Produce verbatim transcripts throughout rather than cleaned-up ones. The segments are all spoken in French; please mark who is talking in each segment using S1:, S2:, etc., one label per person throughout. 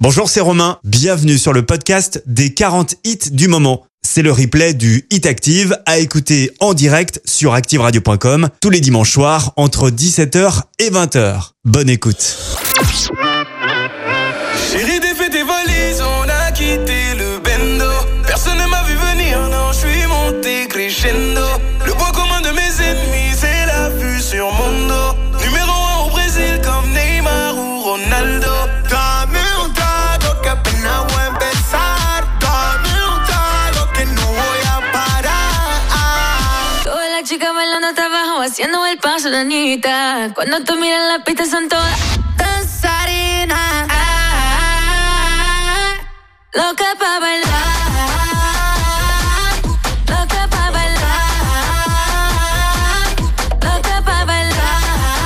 S1: Bonjour, c'est Romain. Bienvenue sur le podcast des quarante hits du moment. C'est le replay du Hit Active à écouter en direct sur active radio point com tous les dimanches soirs entre dix-sept heures et vingt heures. Bonne écoute.
S2: Chérie, défais tes valises, on a quitté le bendo. Personne ne m'a vu venir, non, je suis monté crescendo. Le point commun de mes ennemis, c'est la vue sur mon dos. Numéro un au Brésil comme Neymar ou Ronaldo. Dame un trago que apenas voy a empezar. Dame un trago que no voy a parar.
S3: Todas las chicas bailando hasta abajo, haciendo el paso de Anita. Cuando tú miras la pista son todas danzarinas. Loca pa' bailar, loca pa' bailar, loca pa' bailar.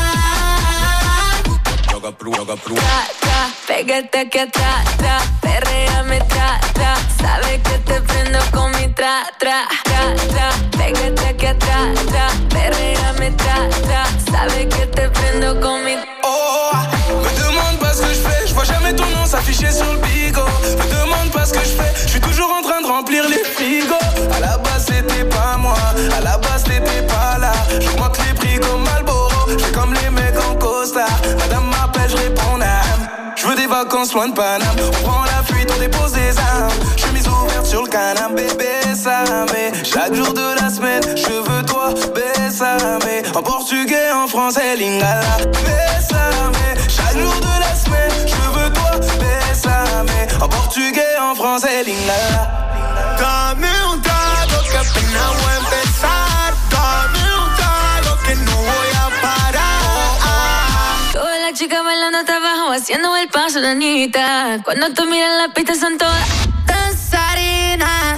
S2: Loca pru, loca pru.
S3: Tra, tra, pégate aquí atrás, tra, perréame, tra, tra. Sabes que te prendo con mi tra, tra, tra, tra. Pégate aquí atrás, tra, perréame, tra, tra. Sabes que te prendo con mi...
S2: Oh, me demande pas ce que je fais, je vois jamais ton nom s'afficher sur le bigot. Me demande pas ce que je fais, je suis toujours en train de remplir les frigos. À la base c'était pas moi, à la base t'étais pas là. J'augmente les prix comme Marlboro, j'fais comme les mecs en costard. Madame m'appelle, je réponds n'âme. Je veux des vacances loin de Paname. On prend la fuite, on dépose des armes. Chemise ouverte sur le canapé, bésame. Chaque jour de la semaine, je veux toi, bésame. En portugais, en français, lingala, bésame. Chaque jour de la semaine, je veux toi, bésame. En portugais, en français, lingala. Dame un trago que apenas voy a empezar. Dame un trago que no voy a parar.
S3: Todas las chicas bailando hasta abajo, haciendo el paso de Anita. Cuando tú miras la pista son todas danzarinas.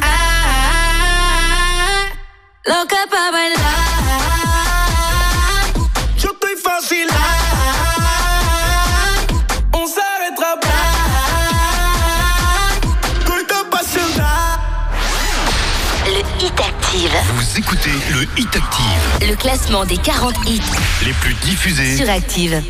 S3: Loca pa' bailar.
S2: Yo estoy fácil. On s'arrêtera pas. Estoy apasionada.
S4: Le Hit Active.
S5: Vous écoutez le Hit Active.
S4: Le classement des quarante hits
S5: Les plus diffusés
S4: sur Active.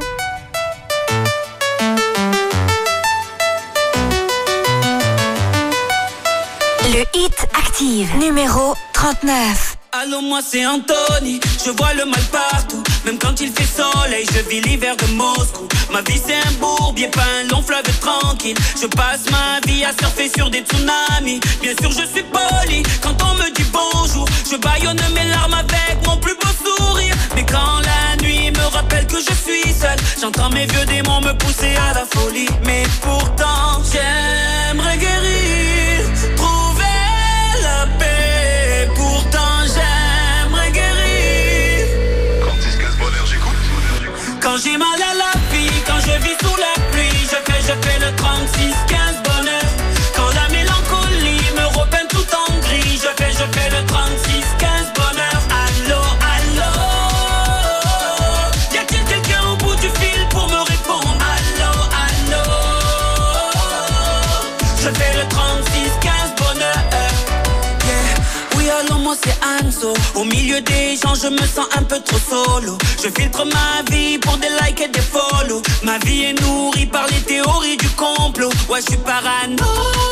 S4: Le Hit Active, numéro trente-neuf.
S6: Allô, moi c'est Anthony, je vois le mal partout. Même quand il fait soleil, je vis l'hiver de Moscou. Ma vie c'est un bourbier, pas un long fleuve tranquille. Je passe ma vie à surfer sur des tsunamis. Bien sûr je suis poli, quand on me dit bonjour, je bâillonne mes larmes avec mon plus beau sourire. Mais quand la nuit me rappelle que je suis seul, j'entends mes vieux démons me pousser à la folie. Mais pourtant j'aimerais guérir, trouver la paix. Pourtant j'aimerais guérir.
S5: trente-six quinze bonheur, j'écoute.
S6: Quand j'ai mal à la vie, quand je vis sous la pluie, je fais, je fais le trente-six quinze bonheur. Quand la mélancolie me repeint tout en gris, je fais, je fais le trente-six quinze bonheur. Allô, allô, y a-t-il quelqu'un au bout du fil pour me répondre? Allô, allô, je fais le trente-six quinze bonheur. Yeah. Oui, allô, moi c'est Anso. Au milieu des gens, je me sens un peu trop solo. Je filtre ma vie pour des likes et des follow. Ma vie est nourrie par les théories du complot. Ouais, je suis parano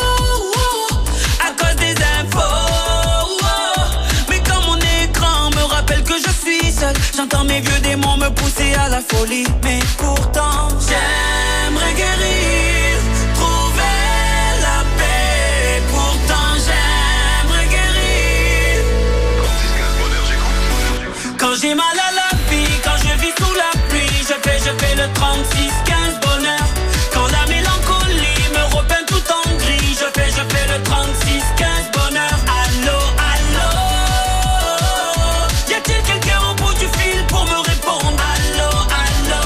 S6: à cause des infos. Mais quand mon écran me rappelle que je suis seul, j'entends mes vieux démons me pousser à la folie. Mais pourtant, j'aimerais guérir, trouver la paix. Pourtant, j'aimerais guérir.
S5: trente-six quinze bonheur, j'écoute.
S6: Quand j'ai mal à la vie, quand je vis sous la pluie, je fais, je fais le trente-six quinze bonheur. Quand la mélancolie me repeint tout en gris, je fais, je fais le trente-six quinze bonheur. Allô, allô, y a-t-il quelqu'un au bout du fil pour me répondre? Allô, allô,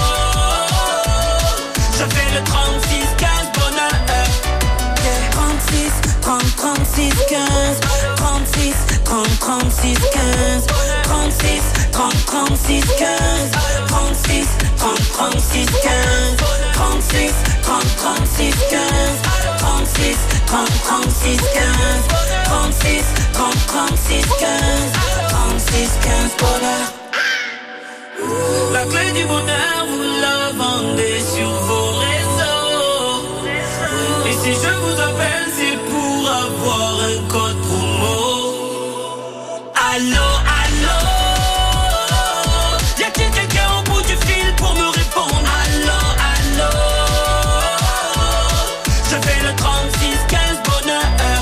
S6: je fais le trente-six quinze bonheur. Yeah. trente-six, trente, trente-six, quinze. trente-six, trente, trente-six, quinze. trente-six, trente, trente-six, quinze. trente-six, trente, trente-six, quinze. trente-six, trente, trente-six, quinze. trente-six, trente, trente-six, quinze. trente-six, trente, trente-six, quinze. trente-six, quinze bonheur. La clé du bonheur, vous la vendez sur vos réseaux. Si je vous appelle, c'est pour avoir un code promo. Allô, allô, y a-t-il quelqu'un au bout du fil pour me répondre? Allô, allô, je fais le trente-six quinze bonheur.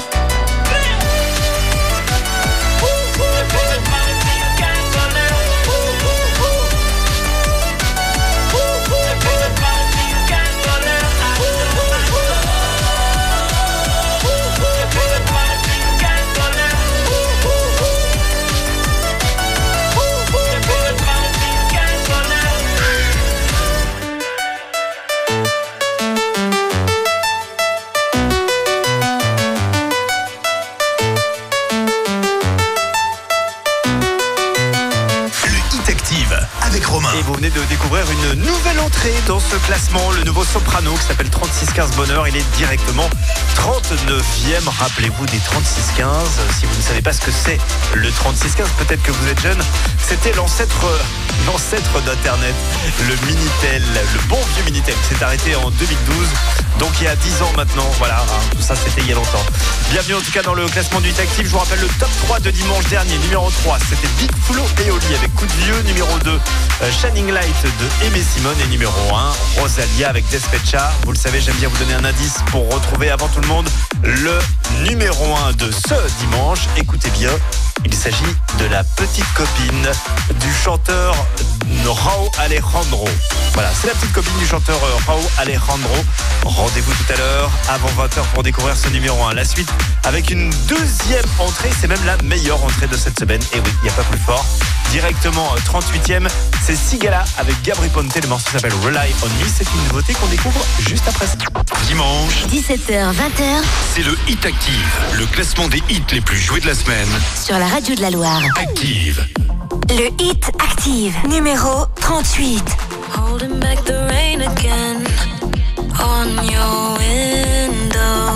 S5: Avec Romain.
S1: Et vous venez de découvrir une nouvelle entrée dans ce classement, le nouveau soprano qui s'appelle trente-six quinze bonheur. Il est directement trente-neuvième. Rappelez-vous des trente-six quinze. Si vous ne savez pas ce que c'est le trente-six quinze, peut-être que vous êtes jeune. C'était l'ancêtre, l'ancêtre d'Internet, le Minitel, le bon vieux Minitel qui s'est arrêté en deux mille douze. Donc il y a dix ans maintenant, voilà, hein, tout ça c'était il y a longtemps. Bienvenue en tout cas dans le classement du Hit Active. Je vous rappelle le top trois de dimanche dernier. Numéro trois, c'était Big Flo et Oli avec Coup de Vieux. Numéro deux, euh, Shining Light de Aimé Simone. Et numéro un, Rosalia avec Despecha. Vous le savez, j'aime bien vous donner un indice pour retrouver avant tout le monde le numéro un de ce dimanche. Écoutez bien, il s'agit de la petite copine du chanteur Rauw Alejandro. Voilà, c'est la petite copine du chanteur Rauw Alejandro. Rendez-vous tout à l'heure avant vingt heures pour découvrir ce numéro un. La suite avec une deuxième entrée, c'est même la meilleure entrée de cette semaine. Et oui, il n'y a pas plus fort. Directement trente-huitième, c'est Sigala avec Gabri Ponte. Le morceau s'appelle Rely on Me. C'est une nouveauté qu'on découvre juste après ça.
S5: Dimanche,
S4: dix-sept heures vingt,
S5: c'est le Hit Active, le classement des hits les plus joués de la semaine.
S4: sur la radio de la Loire.
S5: Active.
S4: Le Hit Active, numéro trente-huit.
S3: Holding back the rain again on your window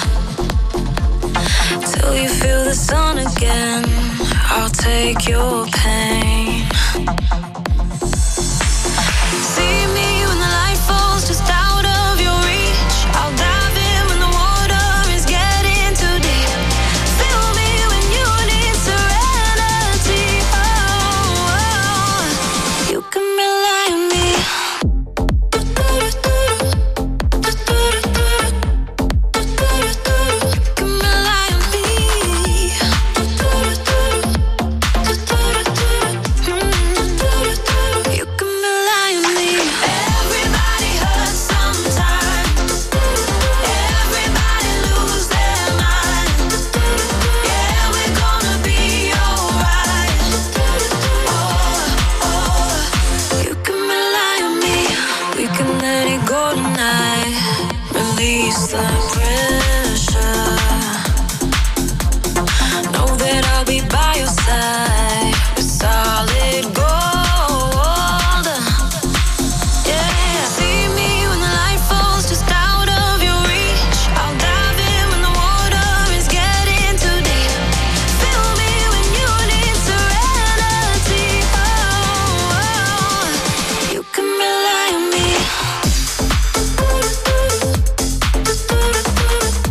S3: till you feel the sun again. I'll take your pain. See me when the light falls just out of your reach. I'll dive in when the water is getting too deep. Feel me when you need serenity. Oh, oh. You can rely on me. Release the pressure. Know that I'll be by your side with solid gold. Yeah, see me when the light falls just out of your reach. I'll dive in when the water is getting too deep. Feel me when you need serenity. Oh, oh. You can rely on me.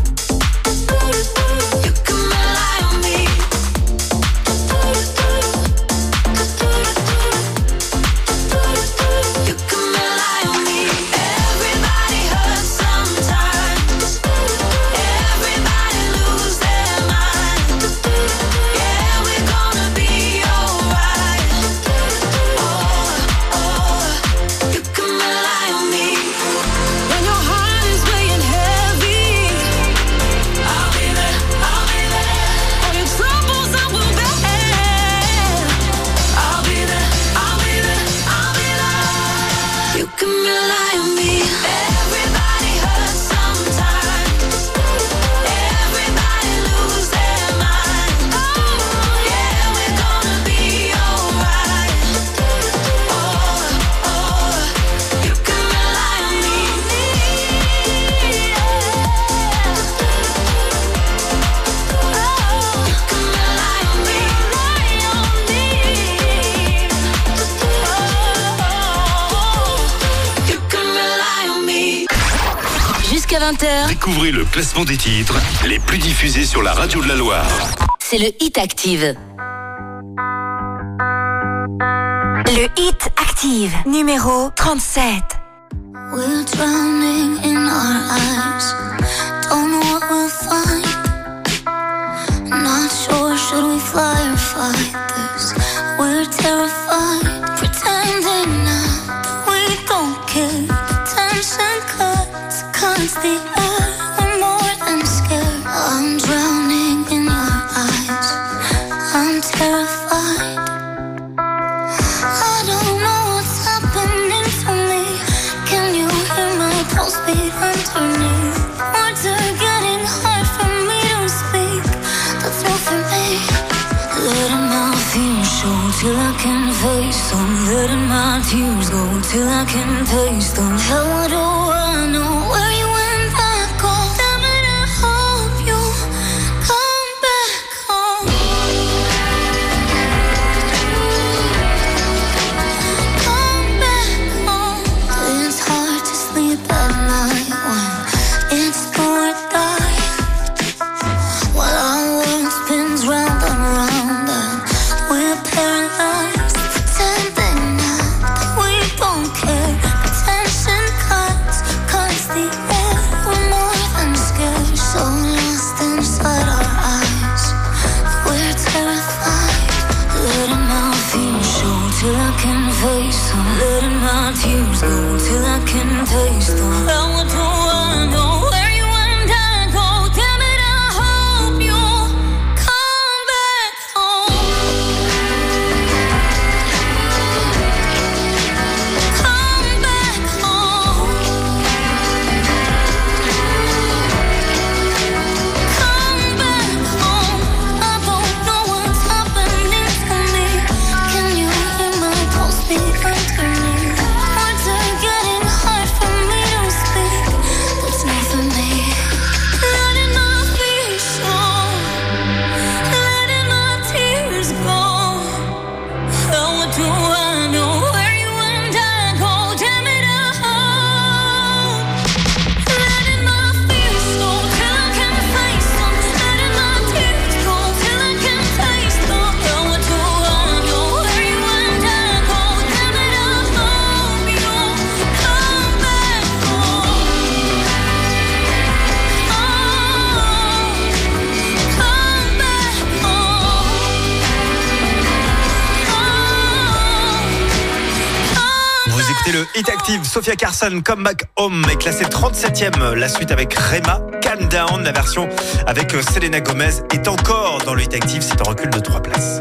S4: vingt heures.
S5: Découvrez le classement des titres les plus diffusés sur la radio de la Loire.
S4: C'est le Hit Active. Le Hit Active, numéro trente-sept.
S7: We're drowning in our eyes. Don't know what we'll find. Not sure, should we fly or fight this? We're terrified, pretending now that we don't care. Tension cuts, cuts the air. We're more than scared. I'm drowning in your eyes. I'm terrified. I don't know what's happening to me. Can you hear my pulse beat underneath? Words are getting hard for me to speak. That's not for me. Letting my fears show till I can face them. Letting my tears go till I can taste them. How do I know where you went that go? Damn it, I hope you come back home. Come back home. It's hard to sleep at night when it's do or die. While our world spins round and round and we're paralyzed, pretending now that we don't care. Attention cuts, cuts the air. We're more than scared, so lost inside our eyes. We're terrified, letting my fears show till I can face them. Letting my tears go till I can taste them. How do I know where you and I go? Damn it, I hope you come back home. Come back home. Come back home. I don't know what's happening to me. Can you hear my pulse beat underneath? Words are getting hard for me to speak. That's not for me. Letting my fears show, letting my tears go. How do I know where you and I go? Damn it, I hope. Letting my fears show till I can face them. Letting my tears go till I can taste them. How do I know where you and I go? Damn it, I hope you come back home.
S1: Vous écoutez le Hit Active, Sophia Carson, Come Back Home, est classée trente-septième. La suite avec Rema, Calm Down. La version avec Selena Gomez est encore dans le Hit Active, c'est un recul de trois places.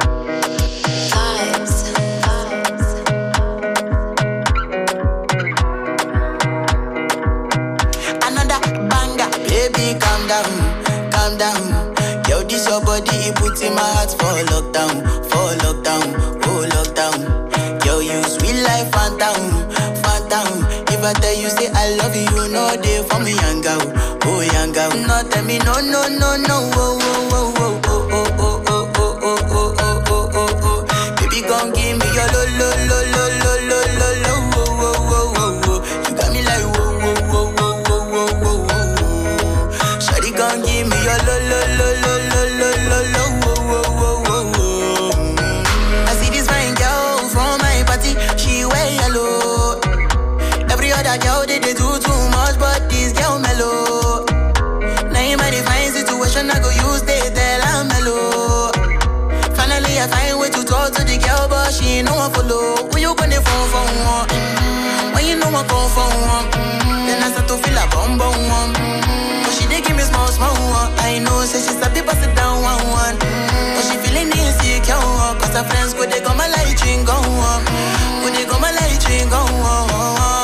S8: Another banger, baby, calm down, calm down. Yo, this your body, it puts in my heart for lockdown, for lockdown, oh lockdown. Yo, you sweet life, phantom, phantom. If I tell you say I love you, you know they for me, young girl, oh young girl. No, tell me no, no, no, no, oh, oh, oh, oh, oh, oh, oh, oh, oh, oh, oh, oh, oh, oh. Baby, gon' give me your lo, lo, lo, lo, lo, lo, lo, lo, oh, oh, oh, oh, oh. You got me like whoa, whoa, whoa, whoa, whoa, whoa, whoa, whoa. Shawty gon' give me your lo, lo, lo, lo, lo, lo, lo, lo, oh, oh, oh, oh, oh. I see this fine girl from my party, she wear yellow. Every other girl they, they do too much, but this girl mellow. Now in my fine situation, I go use they tell I'm mellow. Finally I find way to talk to the girl, but she ain't no one follow. When you gonna phone for one? Mm-hmm. When you know I come for one? Mm-hmm. Then I start to feel a bum bum one. Mm-hmm. But she they give me small small one. I know say she's a bit sit down one one. Mm-hmm. But she feeling insecure, cause her friends go they go my light ring go on. Go they go my light ring go on.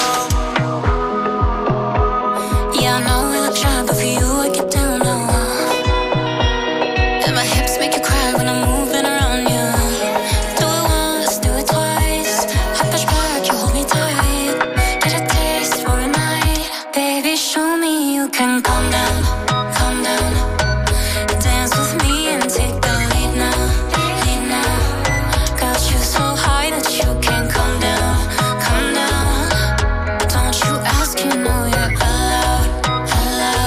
S7: Yeah, I know we look shy, but for you I get down low. And my hips make you cry when I'm moving around you. Do it once, do it twice. I push back, you hold me tight. Get a taste for a night. Baby, show me you can calm down, calm down. Dance with me and take the lead now, lead now. Got you so high that you can't come down, come down. Don't you ask, you know you're allowed, allowed.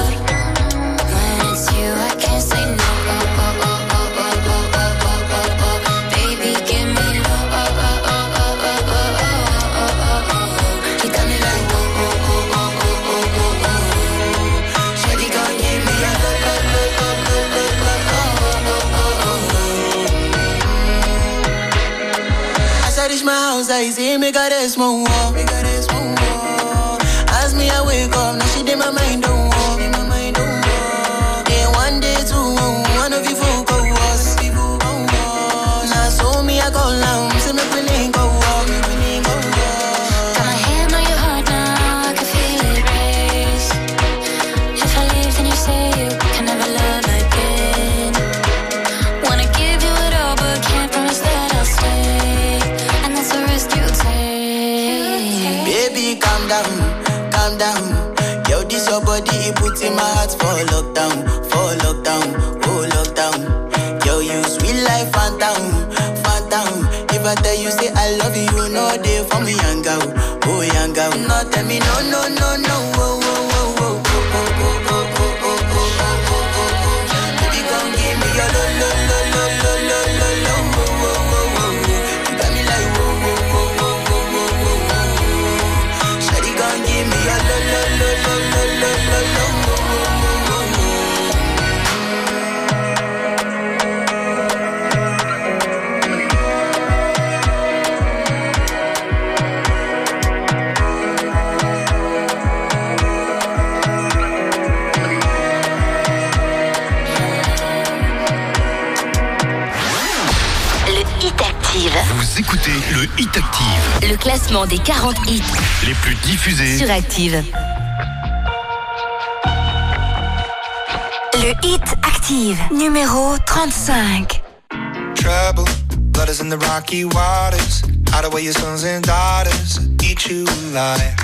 S8: like say make her rest more, make her rest more. As me I wake up, now she did my mind don't walk, my mind don't walk. Then one day two, one of you folk go us. Now so me I go down, say me we link go walk, me we link go walk.
S7: Got my hand on your heart now, I can feel it race. If I leave, then you say you can never love again. Wanna give you it all, but can't promise that I'll stay. And that's the risk you take.
S8: Baby, calm down, calm down. Yo, this your body, it puts in my heart for lockdown, for lockdown, oh lockdown. Yo, you sweet life, phantom, phantom. If I tell you say I love you, you know they for me young girl, oh young girl. No tell me no, no, no, no, oh, oh, oh, oh, oh, oh, oh, oh, oh, oh, oh, oh, oh. Baby, come give me your lo, lo, lo, lo, lo, lo, lo, lo, oh, oh, oh, oh. You got me like whoa, whoa, whoa, whoa, whoa, whoa, whoa. Shawty, come give me your lo, lo, lo, lo, lo, lo, lo, lo, oh, oh, oh, oh.
S5: Vous écoutez le Hit Active.
S4: Le classement des quarante hits
S5: les plus diffusés
S4: sur Active. Le Hit Active, numéro trente-cinq.
S9: Trouble, blood is in the rocky waters. Hide away your sons and daughters, eat you alive.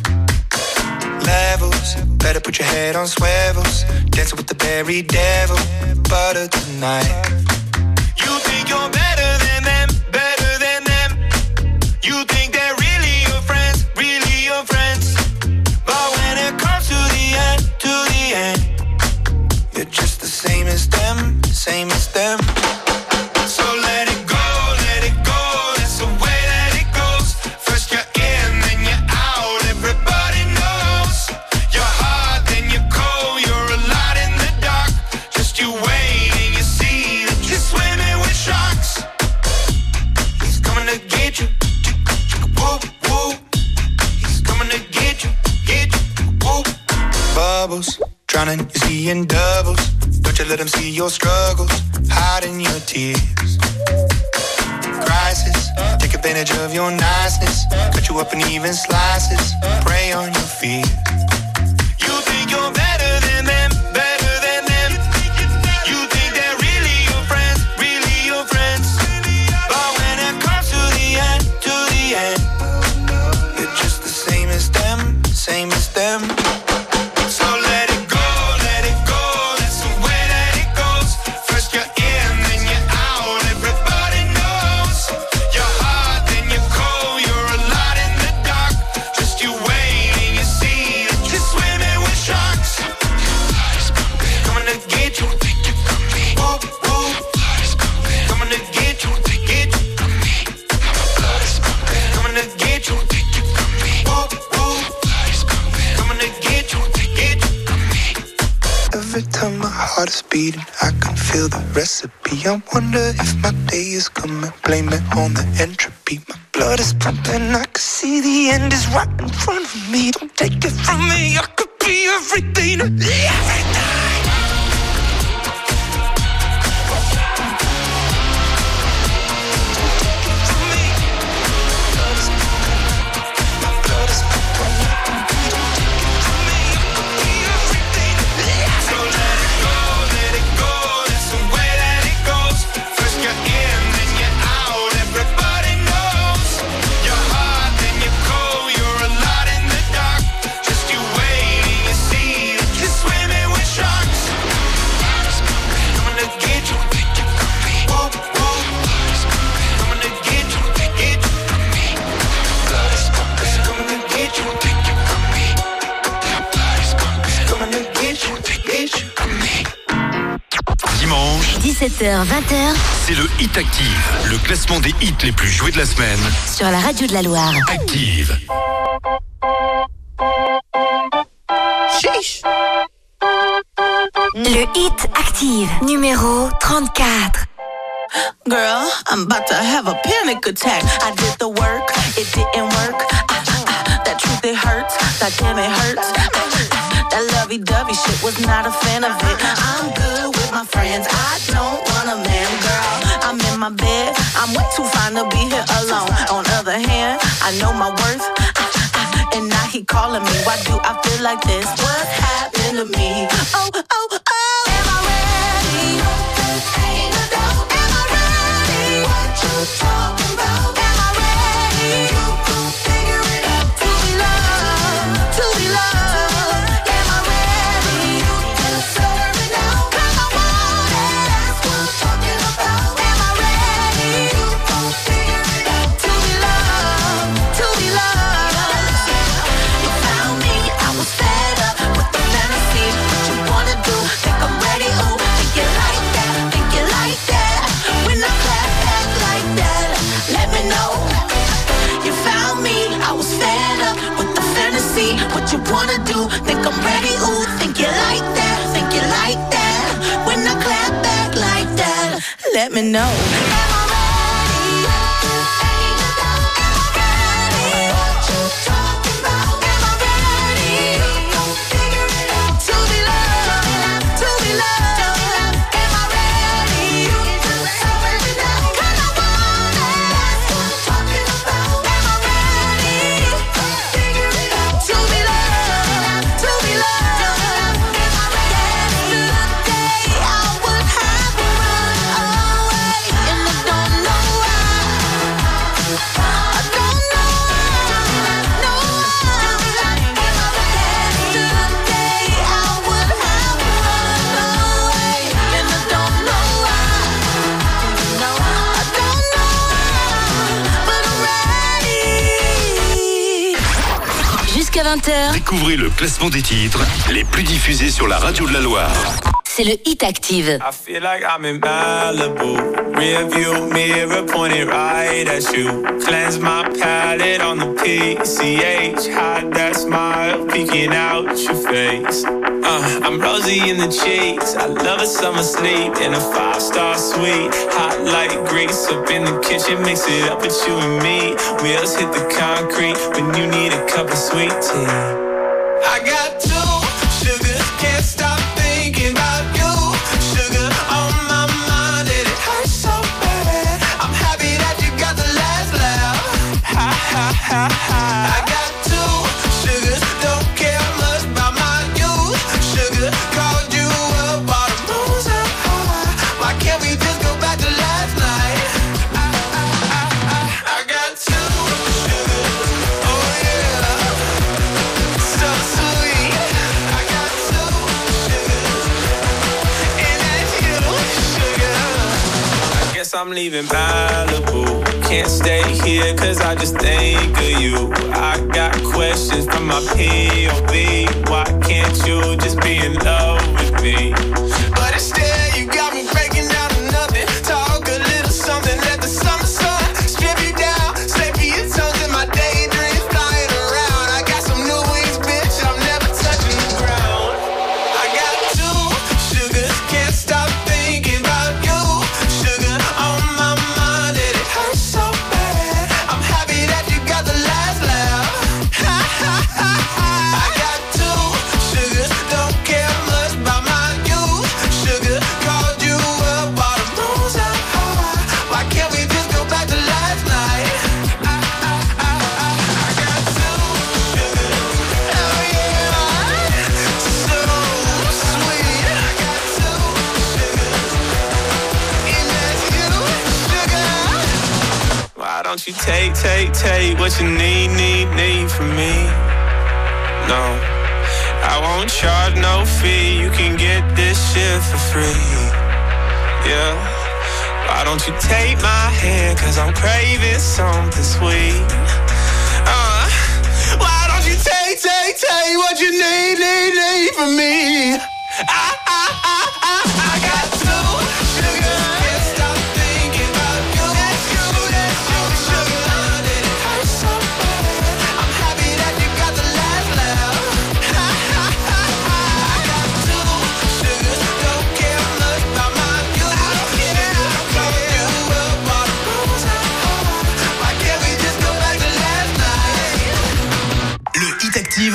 S9: Levels, better put your head on swivels. Dancing with the very devil, butter tonight. You think you're better than them, better than them. You think they're really your friends, really your friends. But when it comes to the end, to the end, you're just the same as them, same as them. So let it go, let it go, that's the way that it goes. First you're in, then you're out, everybody knows. You're hot, then you're cold, you're a lot in the dark. Just you wait and you see that you're swimming with sharks. He's coming to get you, whoa, whoa. He's coming to get you, get you, whoa. Bubbles, drowning, you're seeing doubles. Don't you let them see your struggles, hiding your tears. Crisis, take advantage of your niceness. Cut you up in even slices, prey on your fears. You think you're better than them, better than them. You think they're really your friends, really your friends. But when it comes to the end, to the end, you're just the same as them, same as them. So let it go, let it go, that's the way that it goes. First you're in, then you're out, everybody knows. You're hot, then you're cold, you're a lot in the dark. Just you wait and you see that you're swimming with sharks. Coming to get you, whoa, whoa. Coming to get you, get you. Coming to get you, whoa, whoa. Coming to get you, get you. Every time my heart is beating, I can feel the recipe. I wonder if my day is coming, blame it on the entropy. My blood is pumping, I can see the end is right in front of me. Don't take it from me, I could be everything, everything.
S4: dix-sept heures vingt,
S5: c'est le Hit Active, le classement des hits les plus joués de la semaine.
S4: sur la radio de la Loire.
S5: Active.
S8: Sheesh.
S4: Le Hit Active, numéro trente-quatre.
S6: Girl, I'm about to have a panic attack. I did the work, it didn't work. Ah, ah, ah, that truth, it hurts. God damn, it hurts. Ah, ah, that lovey-dovey shit was not a fan of it. I'm good with my friends. I don't want a man, girl. I'm in my bed. I'm way too fine to be here alone. On other hand, I know my worth. Ah, ah, ah, and now he calling me. Why do I feel like this? What's happened to me? Oh, oh, oh. Am I ready? Ain't no doubt. Am I ready? What you talking about? Am I ready? You gon' figure it out. To be loved, to be loved. Am I ready? You deserve it now. 'Cause I want it. That's what I'm talking about. Am I ready? You gon' figure it out. To be loved, to be loved. You found me. I was fed up with the fantasy. What you wanna do? Think I'm ready? Ooh, think you like that? Think you like that? When I clap back like that, let me know. You found me. I was fed up with the fantasy. What you wanna do? Think I'm ready? Ooh, think you like that? Think you like that? When I clap back like that, let me know. Am I ready? Ain't no doubt. Am I ready? What you talking about? Am I ready? You gon' figure it out. To be loved, to be loved. Am I ready? You deserve it now. 'Cause I want it. That's what I'm talking about. Am I ready? You gon' figure it out. To be loved, to be loved. Am I ready? Yesterday I would have run away, and I don't know why. I don't know why. No why. Am I ready? Yesterday I would have run away, and I don't know why. No, I don't know why, but I'm ready.
S4: Jusqu'à vingt heures,
S5: Découvrez le classement des titres les plus diffusés sur la radio de la Loire.
S4: c'est le Hit Active.
S2: I feel like I'm in Malibu. Rear view mirror pointed right at you. Cleanse my palate on the P C H. Hide that smile peeking out your face. Uh, I'm rosy in the cheeks. I love a summer sleep in a five-star suite. Hot like grease up in the kitchen. Mix it up with you and me. Wheels hit the concrete when you need a cup of sweet tea. I got two sugars, can't stop thinking about you. Sugar on my mind, and it hurts so bad. I'm happy that you got the last laugh. Ha ha ha ha. I got two sugars, don't care much about my youth. Sugar called you up, all the moons up high. Why can't we just go back to last night? I, I, I, I, I got two sugars, oh yeah, so sweet. I got two sugars, and that's you, sugar. I guess I'm leaving Malibu. Can't stay here cause I just think of you. I got questions from my P O V. Why can't you just be in love with me? But instead you got me breaking down to nothing. Talk a little something, let the summer sun strip you down. Slip your tongues in my daydreams flying around. I got some new wings, bitch, I'm never touching the ground. I got two sugars, can't stop thinking about you. Sugar on my mind, and it hurts so bad. I'm happy that you got the last laugh. Ha ha ha ha. I got two sugars, don't care much about my youth. Sugar called you up, all the moons up high. Why can't we just go back to last night? I, I, I, I, I got two sugars, oh yeah, so sweet. I got two sugars, and that's you, sugar. Why don't you take, take, take what you need, need, need from me? No, I won't charge no fee. You can get this shit for free. Yeah. Why don't you take my hand? Cause I'm craving something sweet. Uh, why don't you take, take, take what you need, need, need from me? I, I, I, I, I got two sugars. Can't stop thinking about you. That's you, that's you, sugar. And it hurts so bad. I'm happy that you got the last laugh. Ha ha ha ha. I got two sugars. Don't care much about my youth. Sugar called you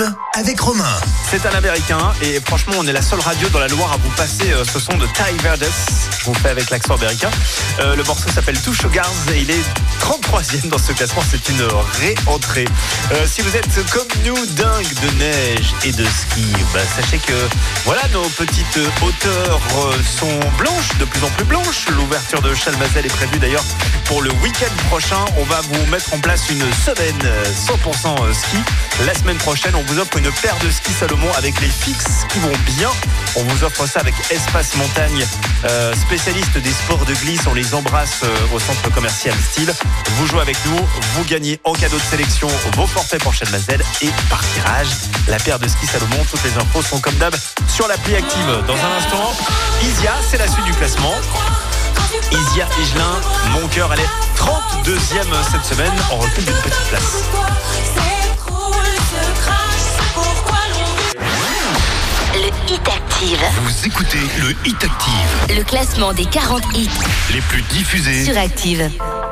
S5: avec Romain.
S10: C'est un Américain et franchement on est la seule radio dans la Loire à vous passer euh, ce son de Ty Verdes. Je vous fais avec l'accent américain. Euh, le morceau s'appelle Two Sugars et il est trente-troisième dans ce classement. C'est une réentrée. Euh, si vous êtes comme nous dingue de neige et de ski, bah, sachez que voilà, nos petites hauteurs euh, sont blanches, de plus en plus blanches. L'ouverture de Chalmazel est prévue d'ailleurs pour le week-end prochain. On va vous mettre en place une semaine cent pour cent ski. La semaine prochaine, on vous offre une paire de skis Salomon avec les fixes qui vont bien. On vous offre ça avec Espace Montagne, euh, spécialiste des sports de glisse. On les embrasse euh, au centre commercial Style. Vous jouez avec nous, vous gagnez en cadeau de sélection vos forfaits pour Chalmazel et par tirage la paire de skis Salomon. Toutes les infos sont comme d'hab sur l'appli Active. Dans un instant, Isia, c'est la suite du classement. Isia Higelin, Mon cœur, elle est trente-deuxième cette semaine. On recule d'une petite place.
S4: Le Hit Active.
S5: Vous écoutez le Hit Active.
S4: Le classement des quarante hits
S5: Les plus diffusés
S4: sur Active.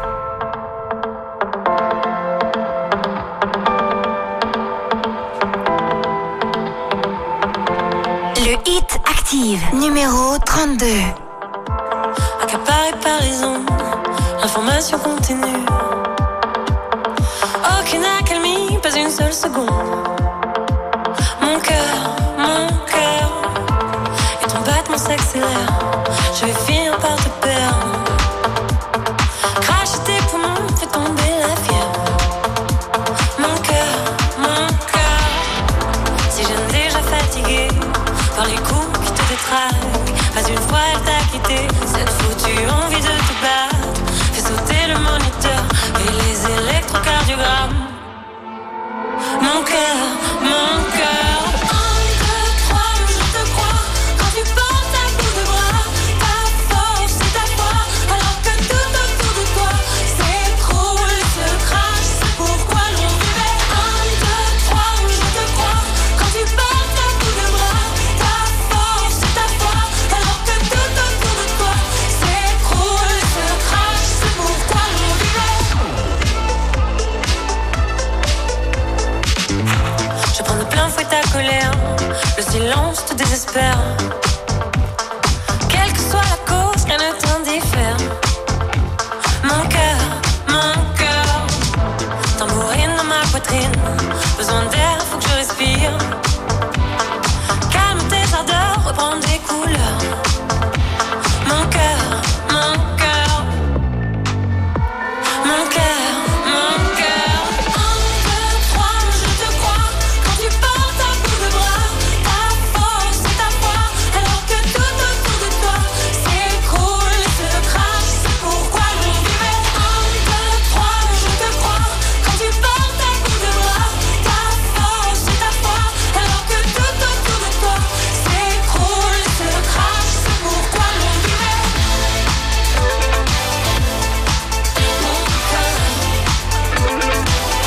S4: Le Hit Active, numéro trente-deux.
S11: Accaparé par les ondes, l'information continue. Aucune accalmie, pas une seule seconde. Mon cœur, mon cœur, et ton battement s'accélère. Je vais finir par te perdre. Cracher tes poumons, fait tomber la fièvre. Mon cœur, mon cœur, si je ne déjà fatigué par les coups qui te détraquent. Pas une fois elle t'a quitté, cette foutue envie de te battre. Fais sauter le moniteur et les électrocardiogrammes. Mon cœur, mon cœur. Un, deux, trois, je te crois. Quand tu portes un bout de bras, ta force et ta foi. Alors que tout autour de toi s'écroule, se crache. C'est pourquoi l'on vivait. Un, deux, trois, je te crois. Quand tu portes un bout de bras, ta force et ta foi. Alors que tout autour de toi s'écroule, se crache. C'est pourquoi l'on vivait. Je prends de plein fouet ta colère, le silence te désespère. Quelle que soit la cause, rien ne t'indiffère. Mon cœur, mon cœur, tambourine dans ma poitrine. Besoin d'air, faut que je respire. Calme tes ardeurs, reprends des couleurs. Mon cœur, mon cœur, mon cœur, mon cœur. Un, deux, trois, je te crois. Quand tu portes un bout de bras, ta force et ta foi. Alors que tout autour de toi s'écroule, se crache. C'est pourquoi l'on vivait. Un, deux, trois, je te crois. Quand tu portes un bout de bras, ta force et ta foi. Alors que tout autour de toi s'écroule, se crache. C'est pourquoi l'on vivait. Mon cœur, mon cœur,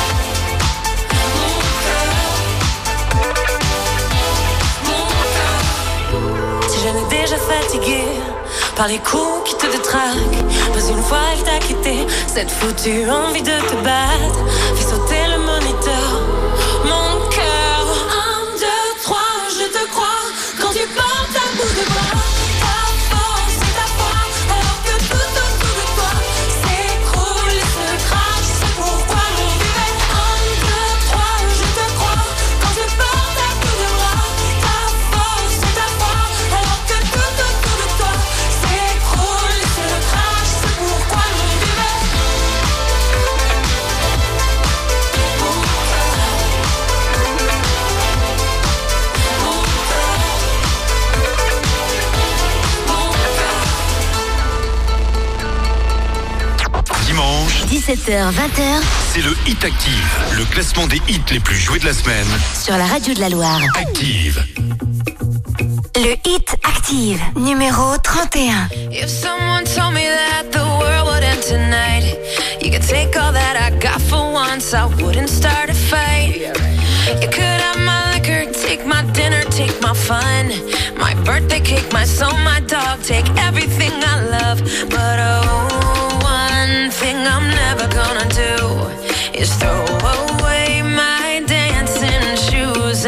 S11: mon cœur. Si je n'ai déjà fatigué par les coups qui te détraquent, pas une fois elle t'a quitté, cette foutue envie de te battre. Fais sauter le moniteur. Mon cœur, un, deux, trois, je te crois. Quand tu portes un bout de bras, ta force et ta foi. Alors que tout autour de toi s'écroule et se crache. C'est pourquoi l'on vivait. Un, deux, trois, je te crois. Quand tu portes un bout de bras, ta force et ta foi. Alors que tout autour de toi s'écroule et se crache. C'est pourquoi l'on vivait. Mon
S5: Dimanche,
S4: dix-sept heures vingt heures
S5: c'est le Hit Active, le classement des hits les plus joués de la semaine.
S4: sur la radio de la Loire.
S5: Active.
S4: Le Hit Active, numéro trente et un.
S3: If someone told me that the world would end tonight, you could take all that I got for once, I wouldn't start a fight. You could have my liquor, take my dinner, take my fun, my birthday cake, my soul, my dog, take everything I love. But oh, one thing I'm never gonna do is throw away my dancing shoes.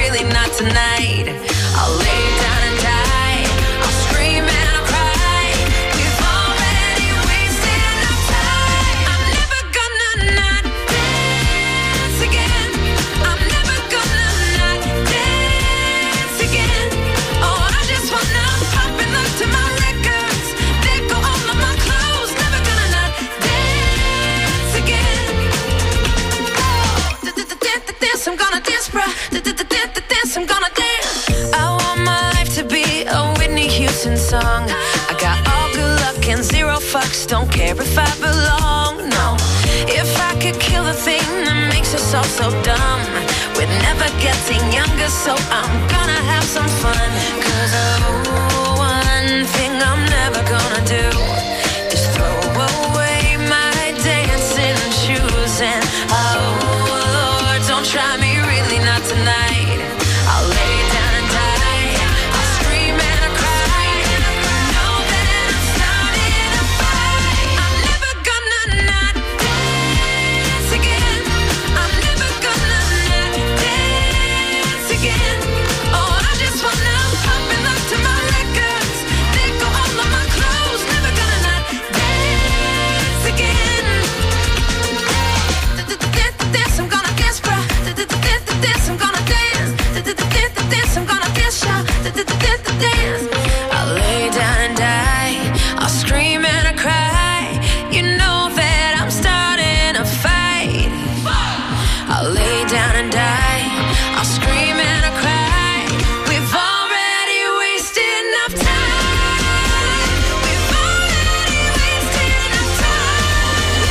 S3: really not tonight. I'll lay down and die. I'll scream and I'll cry. We've already wasted enough time. I'm never gonna not dance again. I'm never gonna not dance again. Oh, I just wanna pop and look to my records. Let go all of my clothes. Never gonna not dance again. Oh, dance, I'm gonna dance, bruh. Dance, I'm gonna dance. I want my life to be a Whitney Houston song. I got all good luck and zero fucks. Don't care if I belong, no. If I could kill the thing that makes us all so dumb, we're never getting younger, so I'm gonna have some fun. Cause oh, one thing I'm never gonna do is throw away my dancing shoes. And oh Lord, don't try me, really not tonight. I'll lay down and die. I'll scream and I'll cry. Know that I'm starting a fight. I'm never gonna not dance again. I'm never gonna not dance again. Oh, I just wanna pop and look to my records. Let go all of my clothes. Never gonna not dance again. Dance, I'm gonna dance, bruh. Dance, I'm gonna dance. Dance, I'm gonna dance, y'all. Dance. I'll lay down and die. I'll scream and I cry. You know that I'm starting a fight. I'll lay down and die. I'll scream and I cry. We've already wasted enough time. We've already wasted enough time.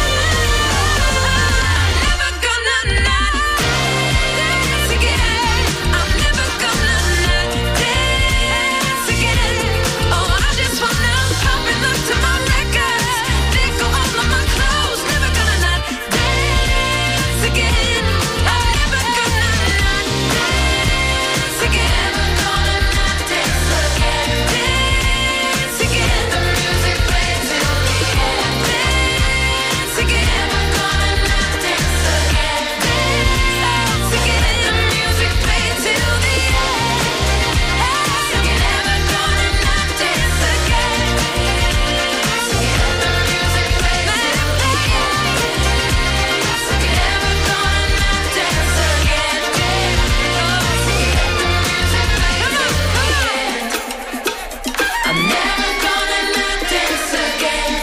S3: I'm never gonna not dance again. I'm never gonna not dance again. Oh, I just wanna pop and look to my records. Let go all of my clothes. Never gonna not dance again. I'm never gonna not dance again. Never gonna not dance again. Dance again. The music plays till the end. Dance again. Never gonna not dance again. Dance again. The music plays till the end. Dance again. Never gonna not dance again. Dance again. The music plays till the end. Dance again. Never gonna not dance again. Dance again. The music plays till the end. I'm never gonna not dance again.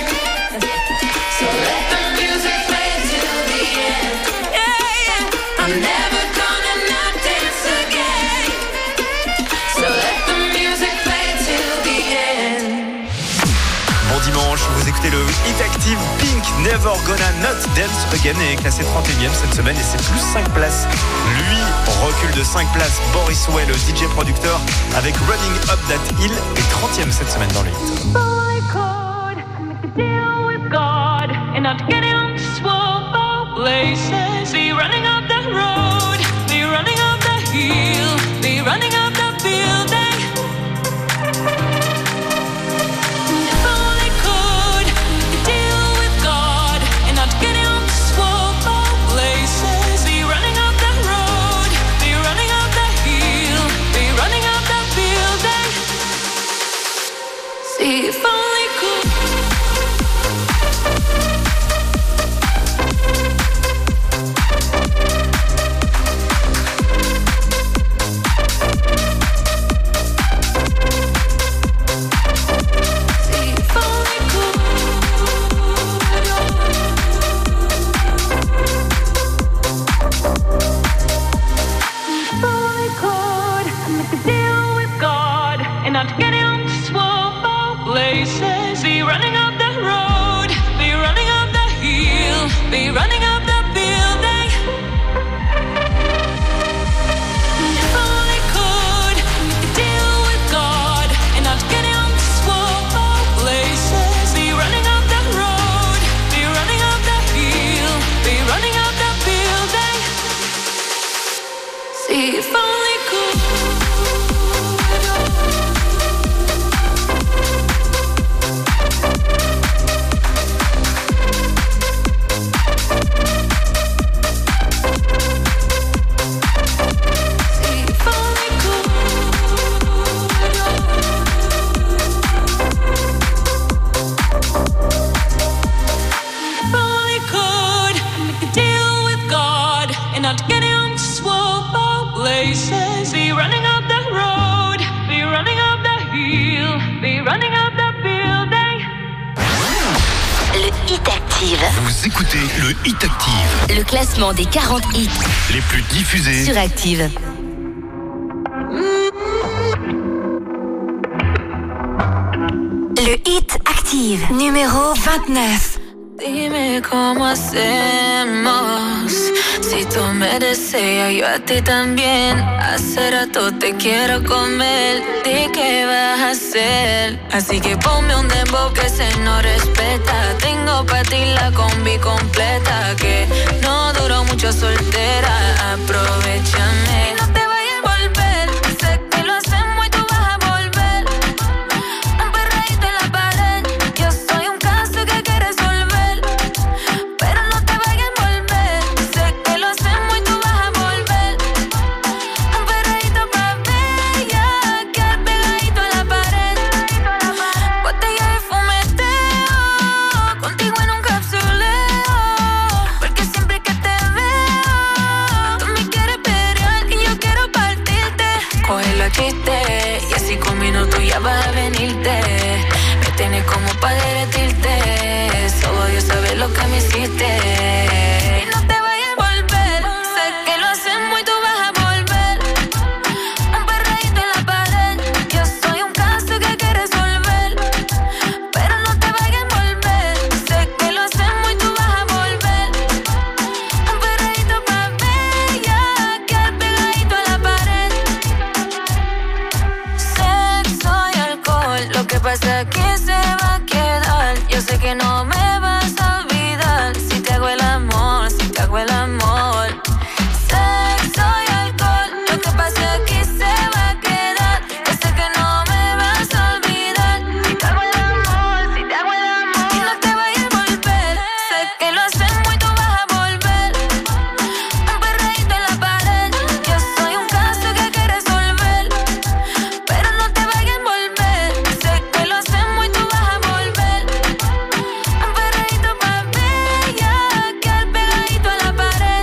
S3: So let the music play till the end. Yeah, yeah. I'm never gonna not dance again. So let the music play till the end.
S10: Bon dimanche, vous écoutez le Hit Active. Pink, Never Gonna Not Dance Again est classé trente et unième cette semaine et c'est plus cinq places. Lui recule de cinq places. Boris Way, le D J producteur, avec Running Up That Hill, est trentième cette semaine dans le hit.
S11: I could make a deal with God and not get him swole places. Be running up the road, be running up the hill, be running up the building. If only could make a deal with God and not get him swole places. Be running up the road, be running up the hill, be running up the building. See if only could.
S4: Active.
S5: Vous écoutez le Hit Active.
S4: Le classement des quarante hits
S5: les plus diffusés
S4: sur Active. Le Hit Active, numéro vingt-neuf.
S3: Dime cómo hacemos. Si tú me deseas, yo a ti también. Hace rato te quiero comer. ¿De qué vas a hacer? Así que ponme un dembow que se no respeta. Tengo pa' ti la combi completa. Que no duró mucho soltera. Aprovechame. No te vayas a volver. Sé que lo hacemos y tú vas a volver. Un perreíto en la pared. Yo soy un caso que hay que resolver. Pero no te vayas a volver. Sé que lo hacemos y tú vas a volver. Un perreíto pa' bella. Quedar pegadito a la pared. Botella de fumeteo. Contigo en un capsuleo. Porque siempre que te veo, tú me quieres pelear y yo quiero partirte. Cógelo a chiste. Y así con minutos ya vas a venirte. Me tienes como pa' derretirte. Solo Dios sabe lo que me hiciste. Y no te vayas a volver. Sé que lo hacemos y tú vas a volver. Un perreíto en la pared. Yo soy un caso que hay que resolver. Pero no te vayas a volver. Sé que lo hacemos y tú vas a volver. Un perreíto pa' bella. Quedar pegadito a la pared. Sexo y alcohol. Lo que pasa aquí se va a quedar. Yo sé que no me vas a olvidar. Si te hago el amor, si te hago el amor. Sexo y alcohol. Lo que pasa aquí se va a quedar. Yo sé que no me vas a olvidar. Si te hago el amor, si te hago el amor. Y no te vayas a volver. Sé que lo hacemos y tú vas a volver. Un perreíto en la pared. Yo soy un caso que hay que resolver. Pero no te vayas a volver. Sé que lo hacemos y tú vas a volver. Un perreíto pa' bella. Quedar pegadito a la pared.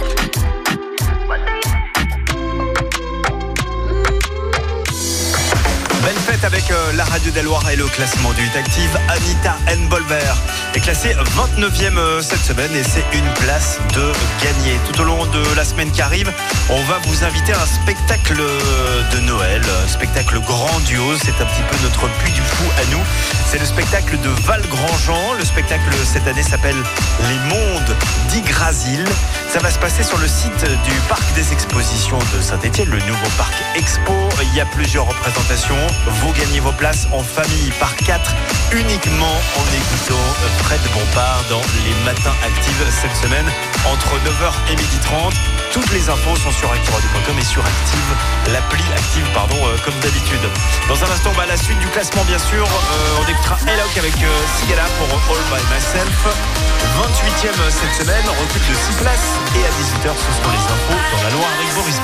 S10: Belle fête avec euh, la radio des Loirs et le classement du Hit Active. Anita Enbolver est classée vingt-neuvième euh, cette semaine et c'est une place de gagner. Tout au long de la semaine qui arrive, on va vous inviter à un spectacle de Noël, un spectacle grandiose. C'est un petit peu notre Puy du Fou à nous. C'est le spectacle de Val Grandjean. Le spectacle cette année s'appelle Les Mondes d'Yggdrasil. Ça va se passer sur le site du Parc des Expositions de Saint-Étienne, le nouveau Parc Expo. Il y a plusieurs représentations. Vous gagnez vos places en famille par quatre uniquement en écoutant Fred Bompard dans Les Matins Actives cette semaine entre neuf heures et midi trente. Toutes les infos sont sur active radio point com et sur Active, l'appli Active, pardon, euh, comme d'habitude. Dans un instant, bah, la suite du classement, bien sûr. Euh, on écoutera Elok avec euh, Sigala pour All By Myself. vingt-huitième cette semaine, recul de six places. Et à dix-huit heures, ce seront les infos dans la Loire avec Boris.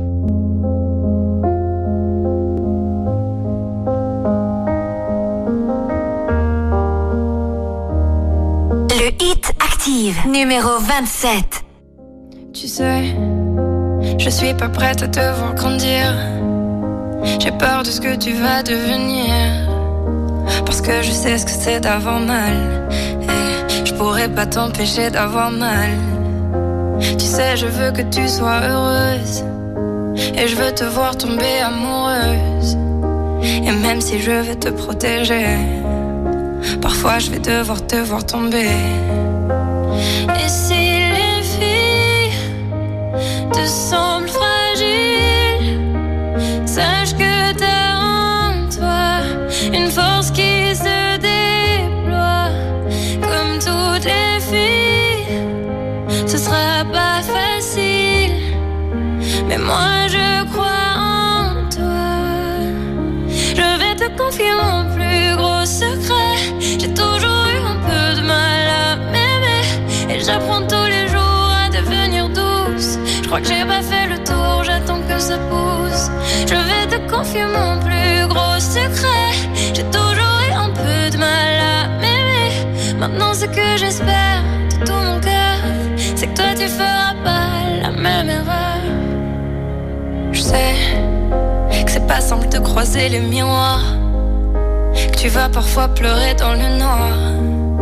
S4: Le Hit Active, numéro vingt-sept.
S11: Tu sais, je suis pas prête à te voir grandir. J'ai peur de ce que tu vas devenir. Parce que je sais ce que c'est d'avoir mal. Et je pourrais pas t'empêcher d'avoir mal. Tu sais, je veux que tu sois heureuse. Et je veux te voir tomber amoureuse. Et même si je vais te protéger, parfois je vais devoir te voir tomber. Et si les filles te semblent fragiles, sache que t'as en toi une force qui se déploie. Comme toutes les filles, ce sera pas facile, mais moi je crois en toi. Je vais te confier mon plus gros secret. J'ai toujours eu un peu de mal à m'aimer, et j'apprends tous les jours à devenir douce. Je crois que j'ai pas fait le tour, j'attends que ça pousse. Je vais te confier mon plus gros secret. J'ai toujours eu un peu de mal à m'aimer. Maintenant ce que j'espère de tout mon cœur, c'est que toi tu feras pas la même erreur. Je sais que c'est pas simple de croiser les miroirs, que tu vas parfois pleurer dans le noir.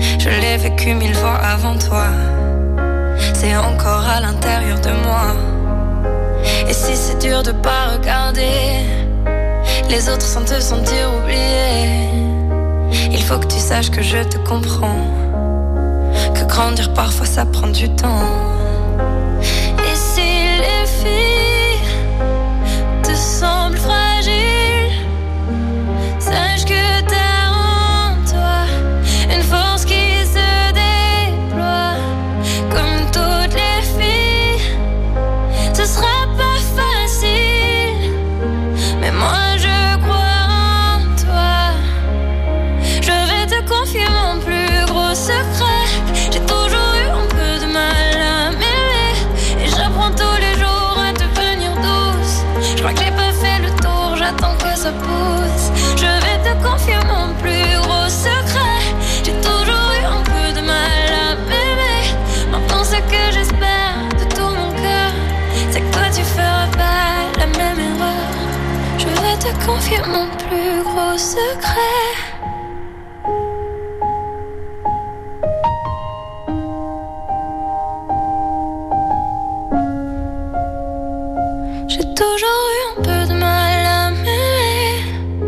S11: Je l'ai vécu mille fois avant toi. C'est encore à l'intérieur de moi. Et si c'est dur de pas regarder les autres sans te sentir oublié, il faut que tu saches que je te comprends, que grandir parfois ça prend du temps. Et si les filles te semblent fragiles, sache que t'as en toi une force qui se déploie. Comme toutes les filles, ce sera pas facile, mais moi je crois en toi. Je vais te confier mon plus gros secret. J'ai toujours eu un peu de mal à m'aimer, et j'apprends tous les jours à devenir douce. Je crois que j'ai pas fait le tour, j'attends que ça pousse. Je vais te confier mon plus gros secret. J'ai toujours eu un peu de mal à m'aimer. Maintenant ce que j'espère de tout mon cœur, c'est que toi tu feras pas la même erreur. Je vais te confier mon plus gros secret. J'ai toujours eu un peu de mal à m'aimer.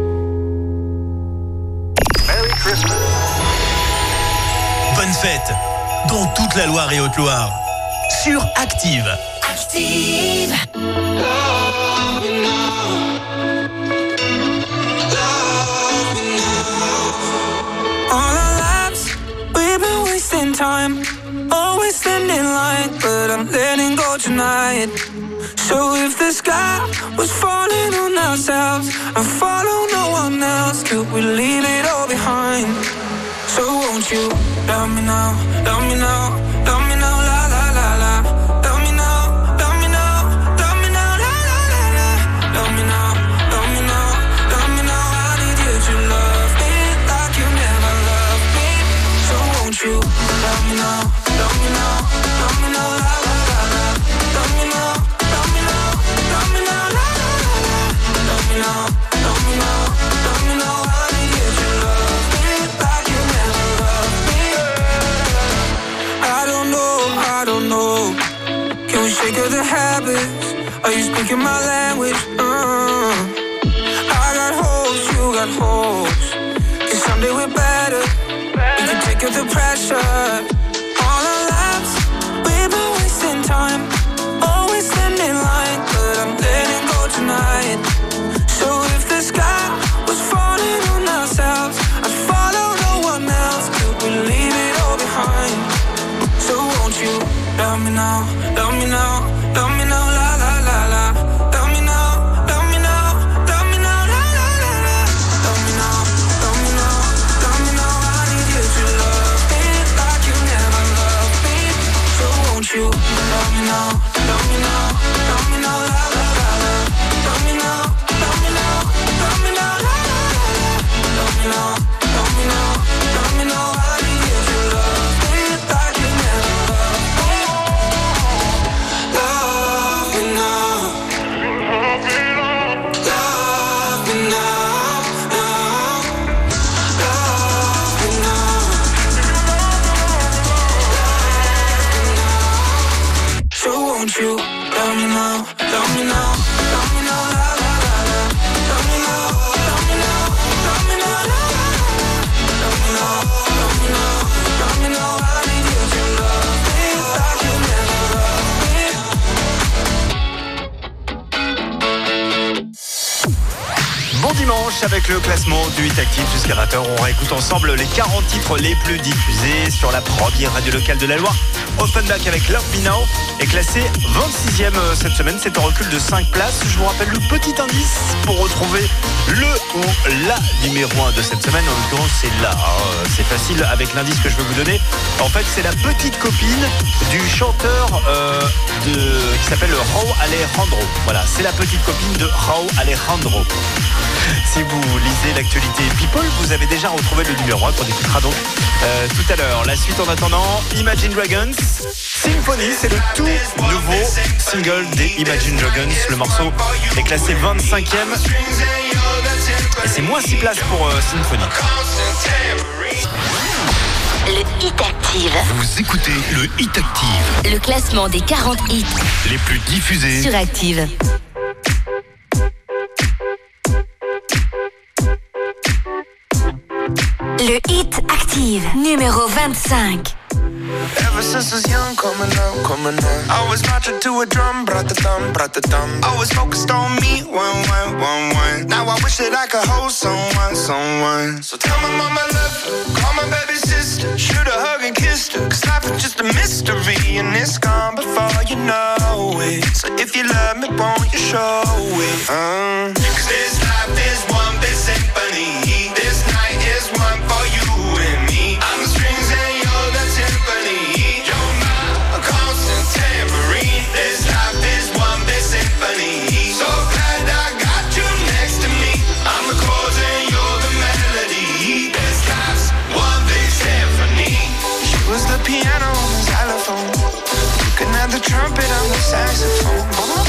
S5: Bonne fête dans toute la Loire et Haute-Loire sur Active.
S11: Active.
S12: All our lives, we've been wasting time, always standing line, but I'm letting go tonight. So if the sky was falling on ourselves and follow no one else, could we leave it all behind? So won't you love me now, love me now, love me now, la la la la. Love me now, love me now, love me now, la la la la. Love me now, love me now, love me now. I need you to love me like you never loved me. So won't you love me now, love me now, love me now, la la la la. Love me now, love me now, love me now, la la la la. Love me now, love me now, love me now. I need you to love me like you never loved me. I don't know, I don't know. Can we shake of the habits? Are you speaking my language? Uh, I got hopes, you got hopes. Cause someday we're better. We can take up the pressure. All our lives, we've been wasting time, always standing line, but I'm letting go tonight. So if the sky was falling on ourselves, I'd follow no one else. Could we leave it all behind? So won't you love me now, love me now, love me now, la la la la. Love me now, love me now, love me now, la la la la. Love me now, love me now, love me now. I need you to love me like you never loved me. So won't you love me now, love me now, love me now, la la la la. Love me now, love me now, love me now, la la la la. Love me now, love me now, love me now. I need you to love me like you never loved me. Love me now, love me now, love me now. So won't you love me now, love me now, love me now, la la la la. Love me now, love me now, love me now, la la la la. Love me now, love me now, love me now. I need you to love me like you never loved me.
S10: Bon dimanche avec le classement du hit actif jusqu'à vingt heures. On réécoute ensemble les quarante titres les plus diffusés sur la première radio locale de la Loire. Offenbach avec Love Me Now est classé vingt-sixième cette semaine. C'est un recul de cinq places. Je vous rappelle le petit indice pour retrouver le ou la numéro un de cette semaine. En l'occurrence, c'est là. Hein. C'est facile avec l'indice que je vais vous donner. En fait, c'est la petite copine du chanteur euh, de, qui s'appelle Rauw Alejandro. Voilà, c'est la petite copine de Rauw Alejandro. Si vous lisez l'actualité People, vous avez déjà retrouvé le numéro un qu'on écoutera donc euh, tout à l'heure. La suite en attendant, Imagine Dragons, Symphony, c'est le tout nouveau single des Imagine Dragons. Le morceau est classé vingt-cinquième et c'est moins six places pour euh, Symphony.
S4: Le Hit Active.
S5: Vous écoutez le Hit Active.
S4: Le classement des quarante hits
S5: les plus diffusés
S4: sur Active. Le Hit Active, numéro vingt-cinq.
S9: Ever since I was young, coming up, coming up, I was marching to a drum, brat-a-dum, brat-a-dum. Always focused on me, one, one, one, one. Now I wish that I could hold someone, someone. So tell my mama I love her, call my baby sister, shoot a hug and kiss her, cause life is just a mystery, and it's gone before you know it. So if you love me, won't you show it? Uh. Cause this life is one big symphony, this night is one for you and me. I'm the strings and you're the timpani. You're my constant tambourine. This life is one big symphony. So glad I got you next to me. I'm the chords and you're the melody. This life's one big symphony. She was the piano on the xylophone. Looking at the trumpet on the saxophone.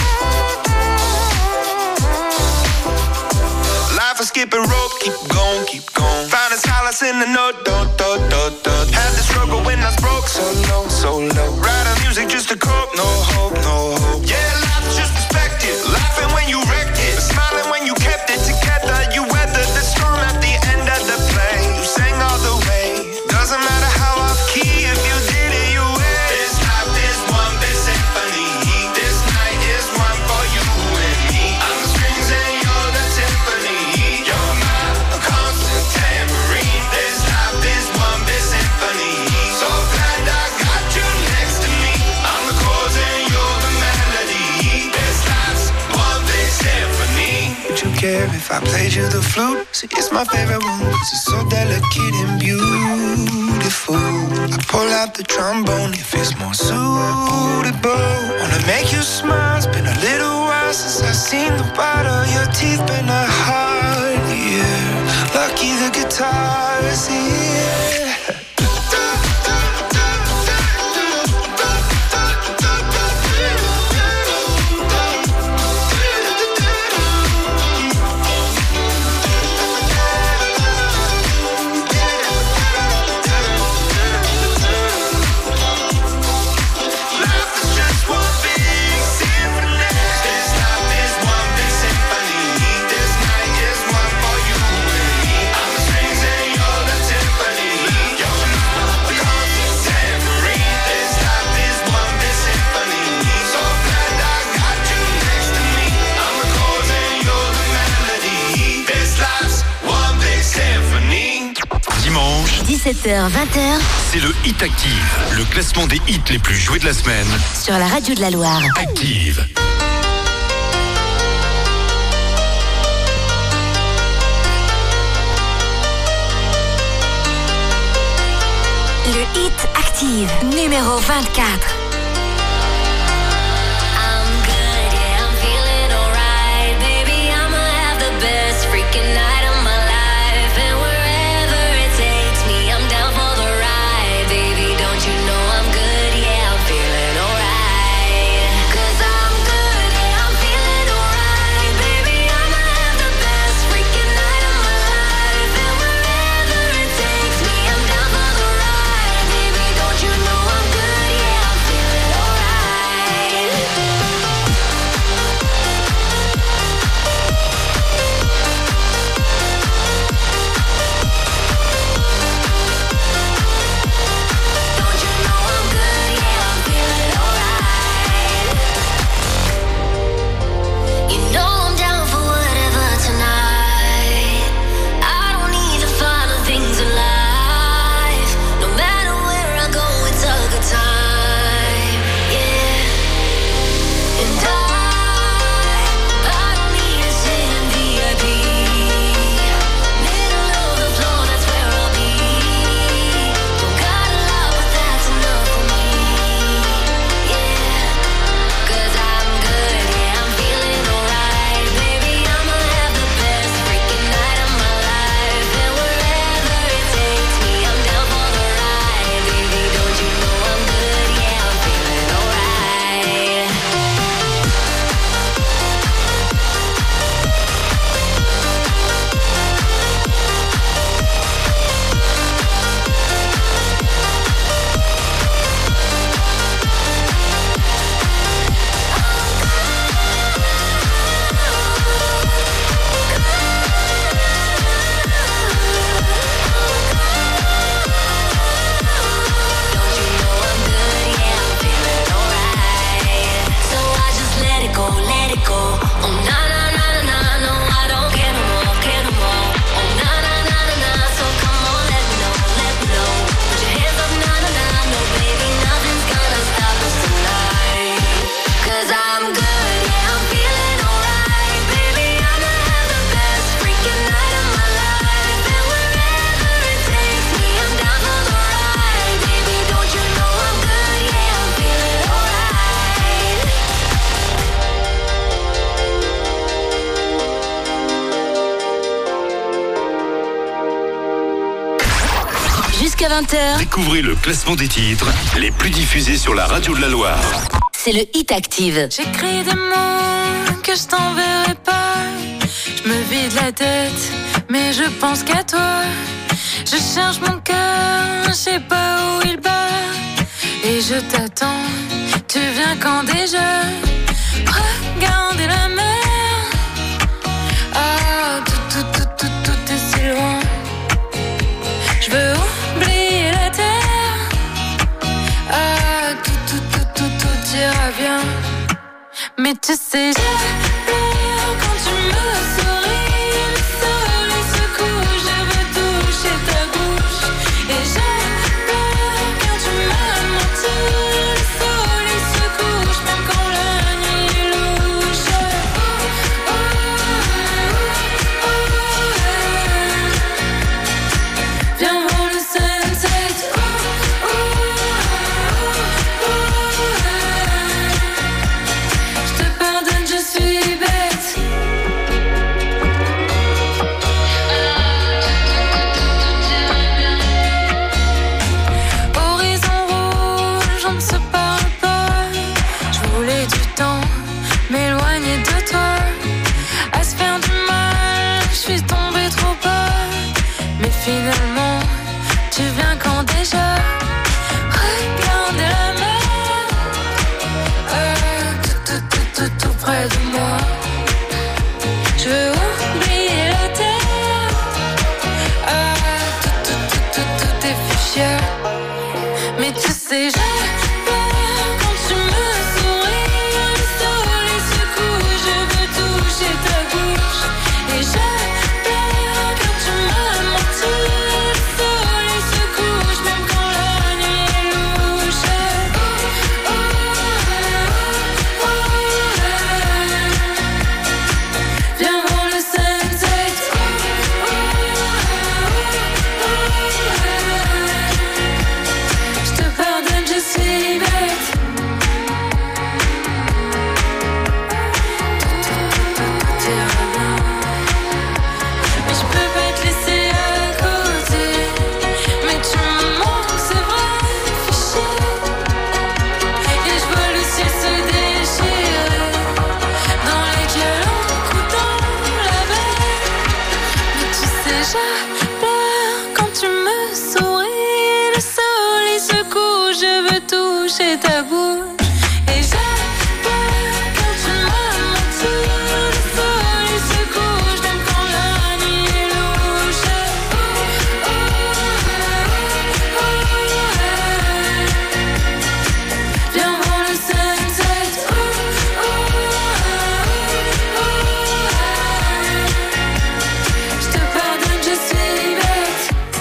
S9: Life is skipping rope, keep going, keep going. Finding solace in the note, do, do, do, do. Had the struggle when I was broke, so low, so low. Writing music just to cope, no hope, no hope. Yeah, life's just perspective. Laughing when you wrecked it, smiling when you kept it together. You weathered the storm at the end of the play. You sang all the way. Doesn't matter how off key, if you did it, you win. This life is one big symphony. This night is one for you and me. I'm the strings and you're the timpani. You're my constant tambourine. This life is one big symphony. So glad I got you next to me. I'm the chords and you're the melody. This life's one big symphony. Would you care if I played you the flute? See, it's my favorite one, cause it's so delicate and beautiful. I pull out the trombone if it's more suitable. Wanna make you smile, it's been a little while since I've seen the white of your teeth. Been a hard year, lucky the guitar is here.
S4: dix-sept heures vingt,
S5: c'est le Hit Active, le classement des hits les plus joués de la semaine.
S4: sur la radio de la Loire.
S5: Active.
S4: Le Hit Active, numéro vingt-quatre.
S3: I'm good, yeah, I'm feeling alright. Baby, I'ma have the best freaking night of my life. And wherever it takes me, I'm down for the ride. Baby, don't you know I'm good, yeah, I'm feeling alright. Cause I'm good, yeah, I'm feeling alright. Baby, I'ma have the best freaking night of my life. And wherever it takes me, I'm down for the ride. Baby, don't you know I'm good, yeah, I'm feeling
S4: jusqu'à vingt heures.
S13: Découvrez le classement des titres les plus diffusés sur la radio de la Loire.
S4: C'est le Hit Active.
S11: J'écris des mots que je t'enverrai pas. Je me vide la tête, mais je pense qu'à toi. Je cherche mon cœur, je sais pas où il bat. Et je t'attends, tu viens quand déjà? Regardez la mer. Ah, tout, tout, tout, tout, tout est si loin. Je veux oublier la terre. Ah, tout, tout, tout, tout, tout ira bien. Mais tu sais, j'ai peur quand tu me souris. Le soleil se couche, je veux toucher ta bouche. Et j'ai peur quand tu m'as menti. Le soleil se couche, même quand la nuit est louche. Oh, oh, oh, oh, viens voir le sunset. Oh, oh, oh, je te pardonne, je suis bête. Horizon rouge, on ne se parle pas. Je voulais du temps, m'éloigner de toi. À se faire du mal, je suis tombée trop bas. Mais finalement, tu viens quand déjà? Regardez la mer. Euh, tout, tout, tout, tout, tout près de moi. Je veux oublier la terre. Ah, tout, tout, tout, tout, tout est fuchsia. Mais tu sais, j'ai peur quand tu me souris. Le soleil se couche, je veux toucher ta bouche. Et j'ai peur quand tu m'as menti. Le soleil se couche, même quand la nuit est louche. Oh, oh, oh, oh, viens voir le sunset. Oh, oh, oh, je te pardonne, je suis bête. Tout ira bien. Mais je peux pas te laisser à côté. Mais tu me manques, c'est vrai, fiché. Et je vois le ciel se déchirer dans les calanques dans la baie. Mais tu sais, j'ai peur quand tu me souris. Le soleil se couche, je veux toucher ta bouche. Et j'ai peur quand tu m'as menti. Le soleil se couche, même quand la nuit est louche. Oh, oh, oh, viens voir le sunset. Oh, oh, oh, je te pardonne, je suis bête.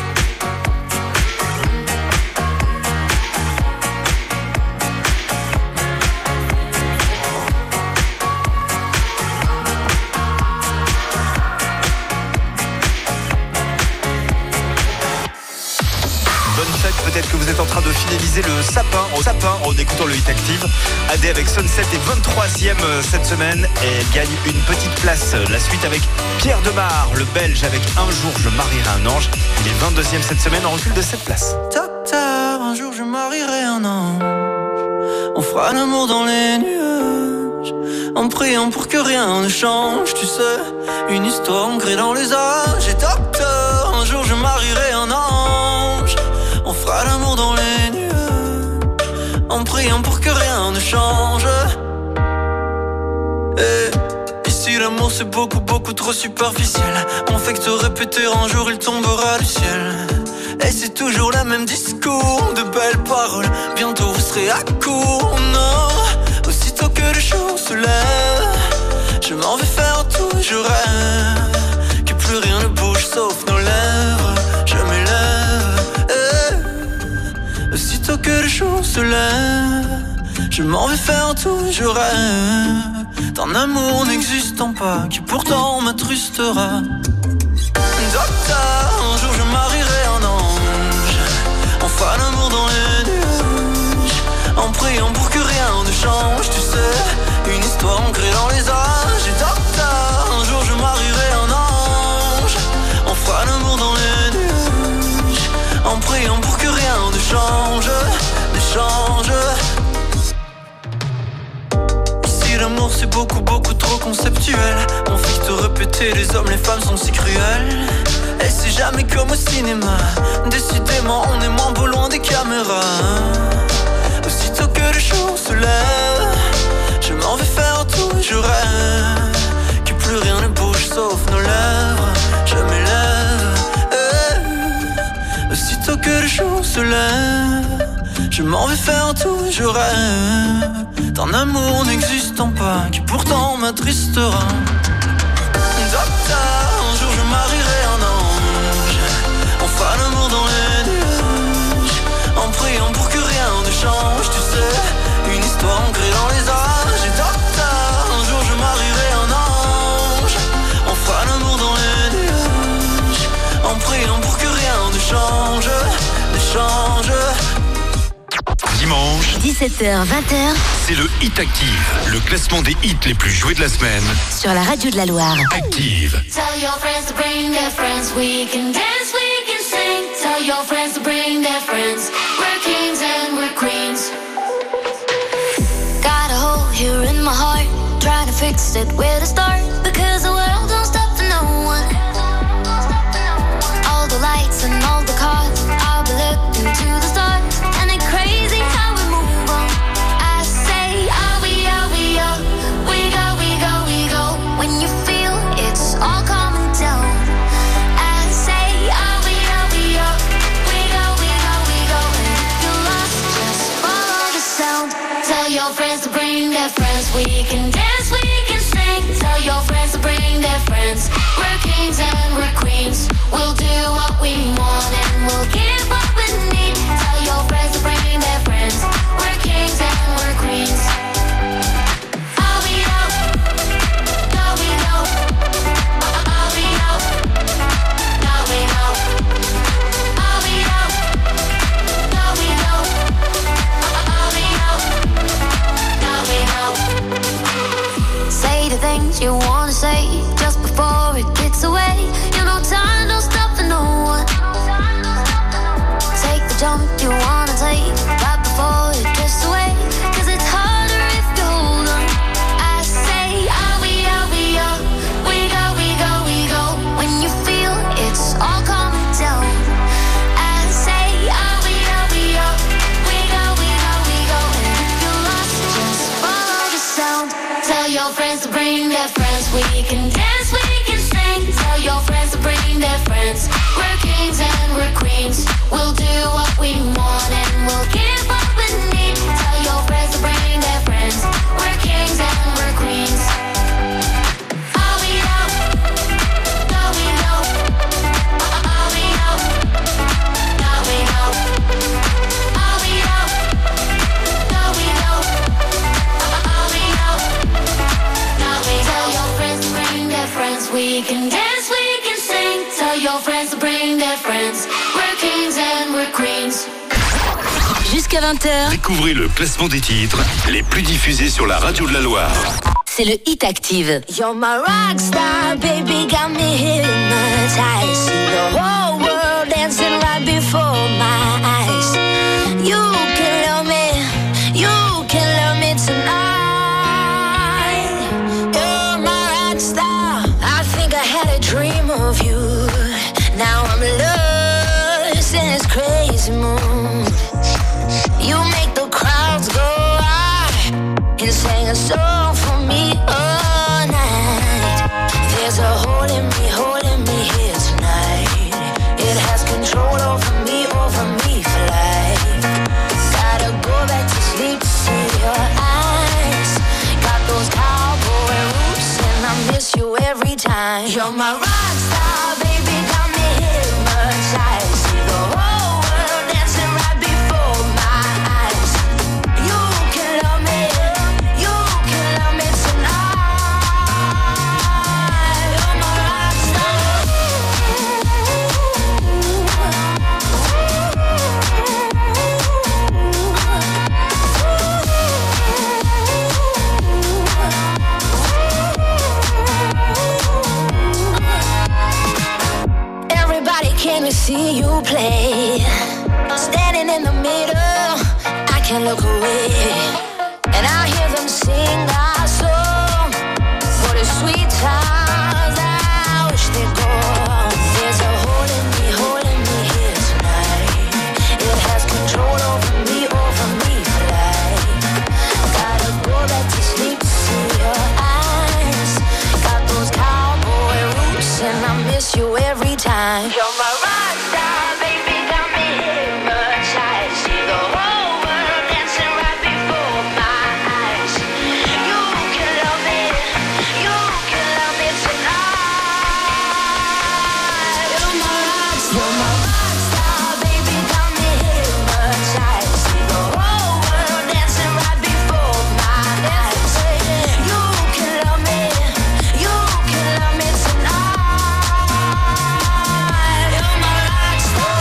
S10: Bonne fête, peut-être que vous êtes en train de finaliser le sapin au sapin en écoutant le Hit Active. Adé avec Sunset est vingt-troisième cette semaine et elle gagne une petite place. La suite avec Pierre Demar, le Belge, avec Un jour je marierai un ange. Il est vingt-deuxième cette semaine en recul de sept places.
S12: Docteur, un jour je marierai un ange. On fera l'amour dans les nuages, en priant pour que rien ne change. Tu sais, une histoire ancrée dans les âges. Et docteur, un jour je marierai un ange. On fera l'amour dans les nuages, en priant pour que rien ne change. Et ici l'amour c'est beaucoup beaucoup trop superficiel. On fait que te répéter un jour il tombera du ciel. Et c'est toujours le même discours, de belles paroles. Bientôt vous serez à court, non. Aussitôt que le jour se lève, je m'en vais faire tout, je rêve que plus rien ne bouge sauf nos lèvres. Je m'élève, eh. Aussitôt que le jour se lève, je m'en vais faire tout, je rêve d'un amour n'existant pas, qui pourtant m'attrustera. Docteur, un jour je marierai un ange. On fera l'amour dans les nuages, en priant pour que rien ne change. Tu sais, une histoire ancrée dans les âges. Et docteur, un jour je marierai un ange. On fera l'amour dans les nuages, en priant pour que
S14: beaucoup, beaucoup trop conceptuel. Mon fils te répétait, les hommes, les femmes sont si cruels. Et c'est jamais comme au cinéma. Décidément, on est moins beau loin des caméras. Aussitôt que le jour se lève, je m'en vais faire tout et je rêve que plus rien ne bouge sauf nos lèvres. Je m'élève, eh. Aussitôt que le jour se lève, je m'en vais faire tout et je rêve d'un amour n'existant pas, qui pourtant m'attristera. Docteur, un jour je marierai un ange. On fera l'amour dans les nuages, en priant pour que rien ne change. Tu sais, une histoire ancrée dans les âges. Et docteur, un jour je marierai un ange. On fera l'amour dans les nuages, en priant pour que rien ne change, ne change.
S13: Dimanche,
S4: dix-sept heures vingt,
S13: c'est le Hit Active, le classement des hits les plus joués de la semaine.
S4: sur la radio de la Loire.
S13: Active.
S3: Tell your friends to bring their friends. We can dance, we can sing. Tell your friends to bring their friends. We're kings and we're queens.
S7: Got a hole here in my heart, trying to fix it, where to start? Because the world don't stop for no one. All the lights and all the cars, I'll be looking to the stars. And it's crazy how we move on. I say, are we, are we, are we go, we go, we go. When you feel it's all coming down, I say, are we, are we, are we go, we go, we go. And if you're lost, just follow the sound. Tell your friends to bring their friends. We can dance, we can sing. Tell your friends to bring their friends. We're kings and we're queens. We'll do what we want and we'll give what we need. Tell your friends to bring their friends. We're kings and we're queens. Are we out? No, we know. Are we out? No, we know. Are we out? No, we know. Are we out? No, we know. Say the things you wanna say just before it gets away. You know time don't stop for no one. Take the jump you wanna take right before it gets away. Cause it's harder if you hold on. I say, are we, are we, are we go, we go, we go. When you feel it's all coming down, I say, are we, are we, are we go, we go, we go. And if you're lost, just follow the sound. Tell your friends to bring their friends. We can dance, we can sing. Tell your friends to bring their friends. We're kings and we're queens. We'll do what we want and we'll give what we need. Tell your friends to bring their friends. We're kings and we're queens. Are we out? No, we know. Are we out? No, we know. Are we out? No, we know. Are we out? No, we tell your friends to bring their friends. We can dance, we can sing. Tell your friends to bring their friends. We're kings and we're queens.
S4: Jusqu'à vingt heures,
S13: Découvrez le classement des titres les plus diffusés sur la radio de la Loire.
S4: c'est le Hit Active.
S7: You're my rock star, baby, got me hypnotized. See the whole world dancing right before my eyes. You can love me, you can love me tonight. You're my rock star, I think I had a dream of you. Now I'm lost in this crazy mood. You make the crowds go wild and sing a song for me all night. There's a hole in me, holding me here tonight. It has control over me, over me for life. Gotta go back to sleep to see your eyes. Got those cowboy roots and I miss you every time. You're my rock star, baby, got me hypnotized. See the whole world dancing right before my eyes. You can love me, you can love me tonight. You're my rock star. Everybody came to see you play. Standing in the middle, I can't look away. And I hear them sing our song
S3: miss you every time.
S4: You're my rock star, baby, got me hypnotized. See the whole world dancing right before my eyes. You can love me, you can love me tonight. You're my rock star, you're my rock star, baby, got me hypnotized. See the whole world dancing right before my eyes. You can love me, you can love me tonight. You're my rock star.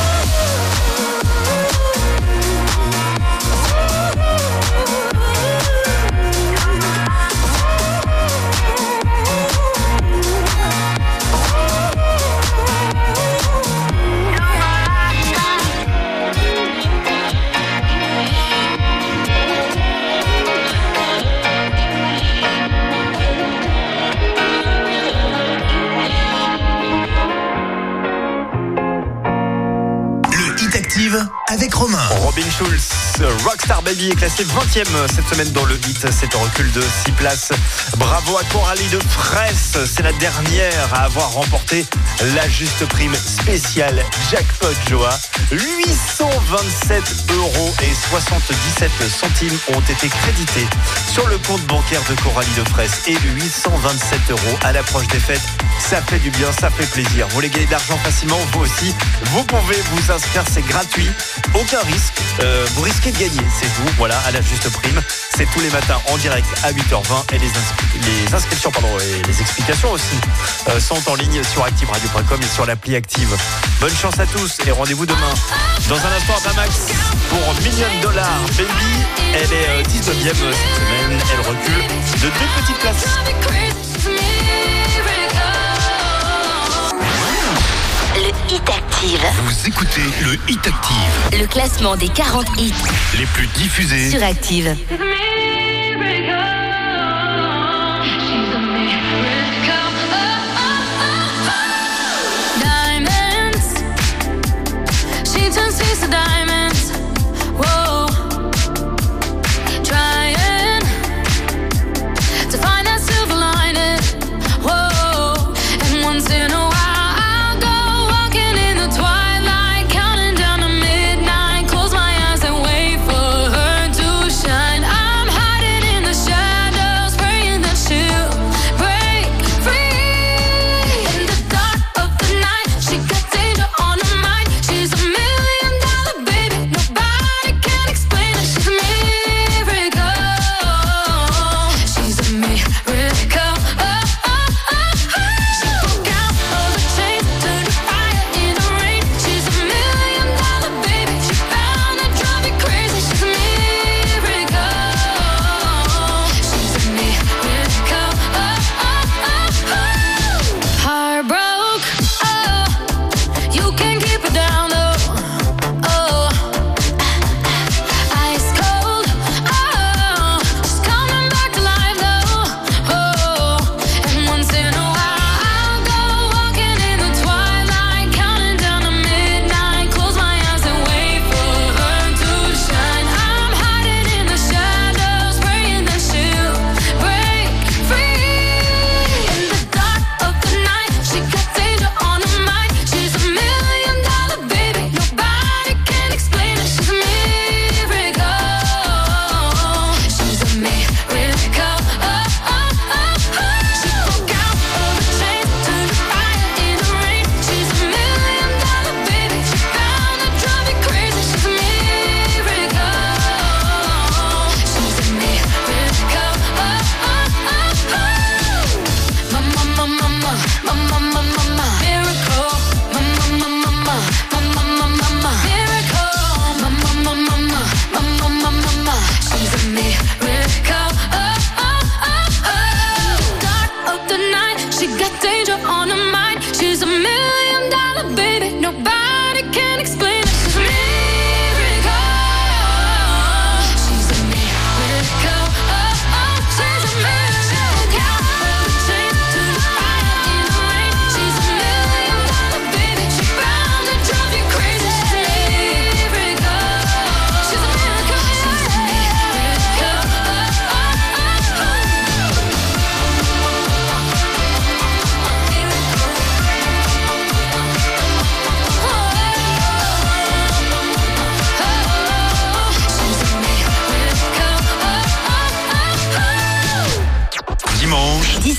S5: Le Hit Active avec Romain.
S10: Robin Schulz, Rockstar Baby est classé vingtième cette semaine dans le hit. C'est un recul de six places. Bravo à Coralie de Fraisse. C'est la dernière à avoir remporté la juste prime spéciale Jackpot Joa. huit cent vingt-sept euros et soixante-dix-sept centimes ont été crédités sur le compte bancaire de Coralie de Fraisse. Et huit cent vingt-sept euros à l'approche des fêtes. Ça fait du bien, ça fait plaisir. Vous voulez gagner de l'argent facilement, vous aussi. Vous pouvez vous inscrire, c'est gratuit. Aucun risque. Euh, vous risquez de gagner, c'est vous. Voilà, à la juste prime. C'est tous les matins en direct à huit heures vingt. Et les, inscri- les inscriptions pardon, et les explications aussi euh, sont en ligne sur active radio point com et sur l'appli Active. Bonne chance à tous et rendez-vous demain. Dans un instant, Damax pour Million Dollar Baby. Elle est euh, dix-neuvième cette semaine. Elle recule de deux petites places.
S4: Le Hit Active.
S5: Vous écoutez le Hit Active.
S4: Le classement des quarante hits
S5: Les plus diffusés
S4: sur Active.
S11: Diamonds, she turns things to diamonds. Whoa, trying to find that silver lining. Whoa, and once in a while I'll go walking in the twilight, counting down to midnight. Close my eyes and wait for her to shine. I'm hiding in the shadows, praying that she'll break free. In the dark of the night, she got danger on her mind. She's a million dollar baby.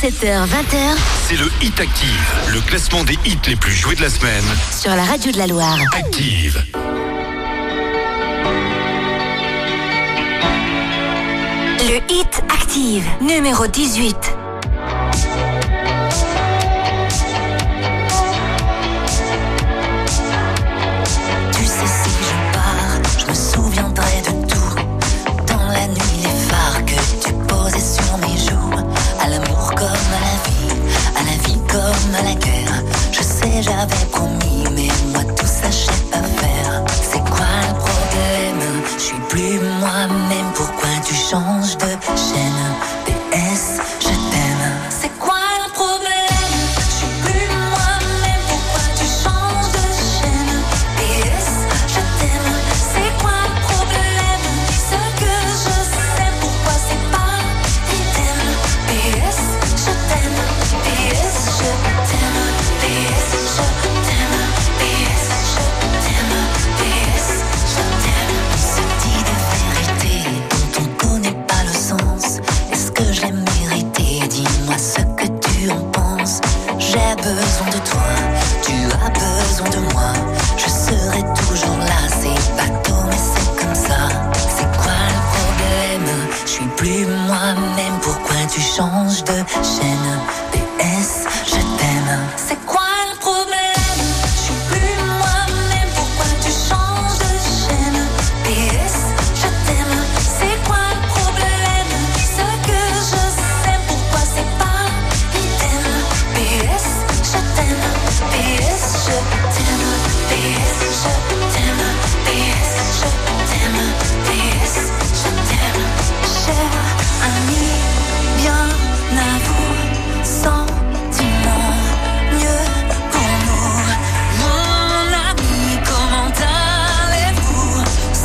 S15: dix-sept heures vingt,
S13: C'est le Hit Active, le classement des hits les plus joués de la semaine.
S15: sur la radio de la Loire.
S13: Active.
S15: Le Hit Active, numéro dix-huit.
S16: Tu sais, si je pars, je me souviendrai de tout. Dans la nuit, les phares que tu posais sur mes joues. À l'amour comme à la vie, à la vie comme à la guerre. Je sais, j'avais promis, mais moi tout ça, je sais pas faire. C'est quoi le problème? Je suis plus moi-même, pourquoi tu changes de chaîne? P S, je t'aime. C'est quoi le problème? Je suis plus moi-même, pourquoi tu changes de chaîne? P S, je t'aime. C'est quoi le problème? Ce que je sais, pourquoi c'est pas idem? P S, je t'aime. P S, je t'aime. P S, je t'aime. P S, je t'aime. P S, je t'aime. Ce dit des vérités dont on connaît pas le sens. Est-ce que je l'ai mérité? Dis-moi ce que tu en penses. J'ai besoin de toi, tu as besoin de moi. Je serai toujours là, c'est bateau mais c'est comme ça. C'est quoi le problème? Je suis plus moi-même, pourquoi tu changes de chaîne? P S, je t'aime. C'est quoi le problème? Je suis plus moi-même, pourquoi tu changes de chaîne? P S, je t'aime. C'est quoi le problème? Ce que je sais, pourquoi c'est pas idem? P S, je t'aime. P S, je t'aime. P S, je t'aime. P S, je t'aime. P S, je t'aime. Cher ami, bien à vous, sentiment, mieux pour nous. Mon ami, comment allez-vous?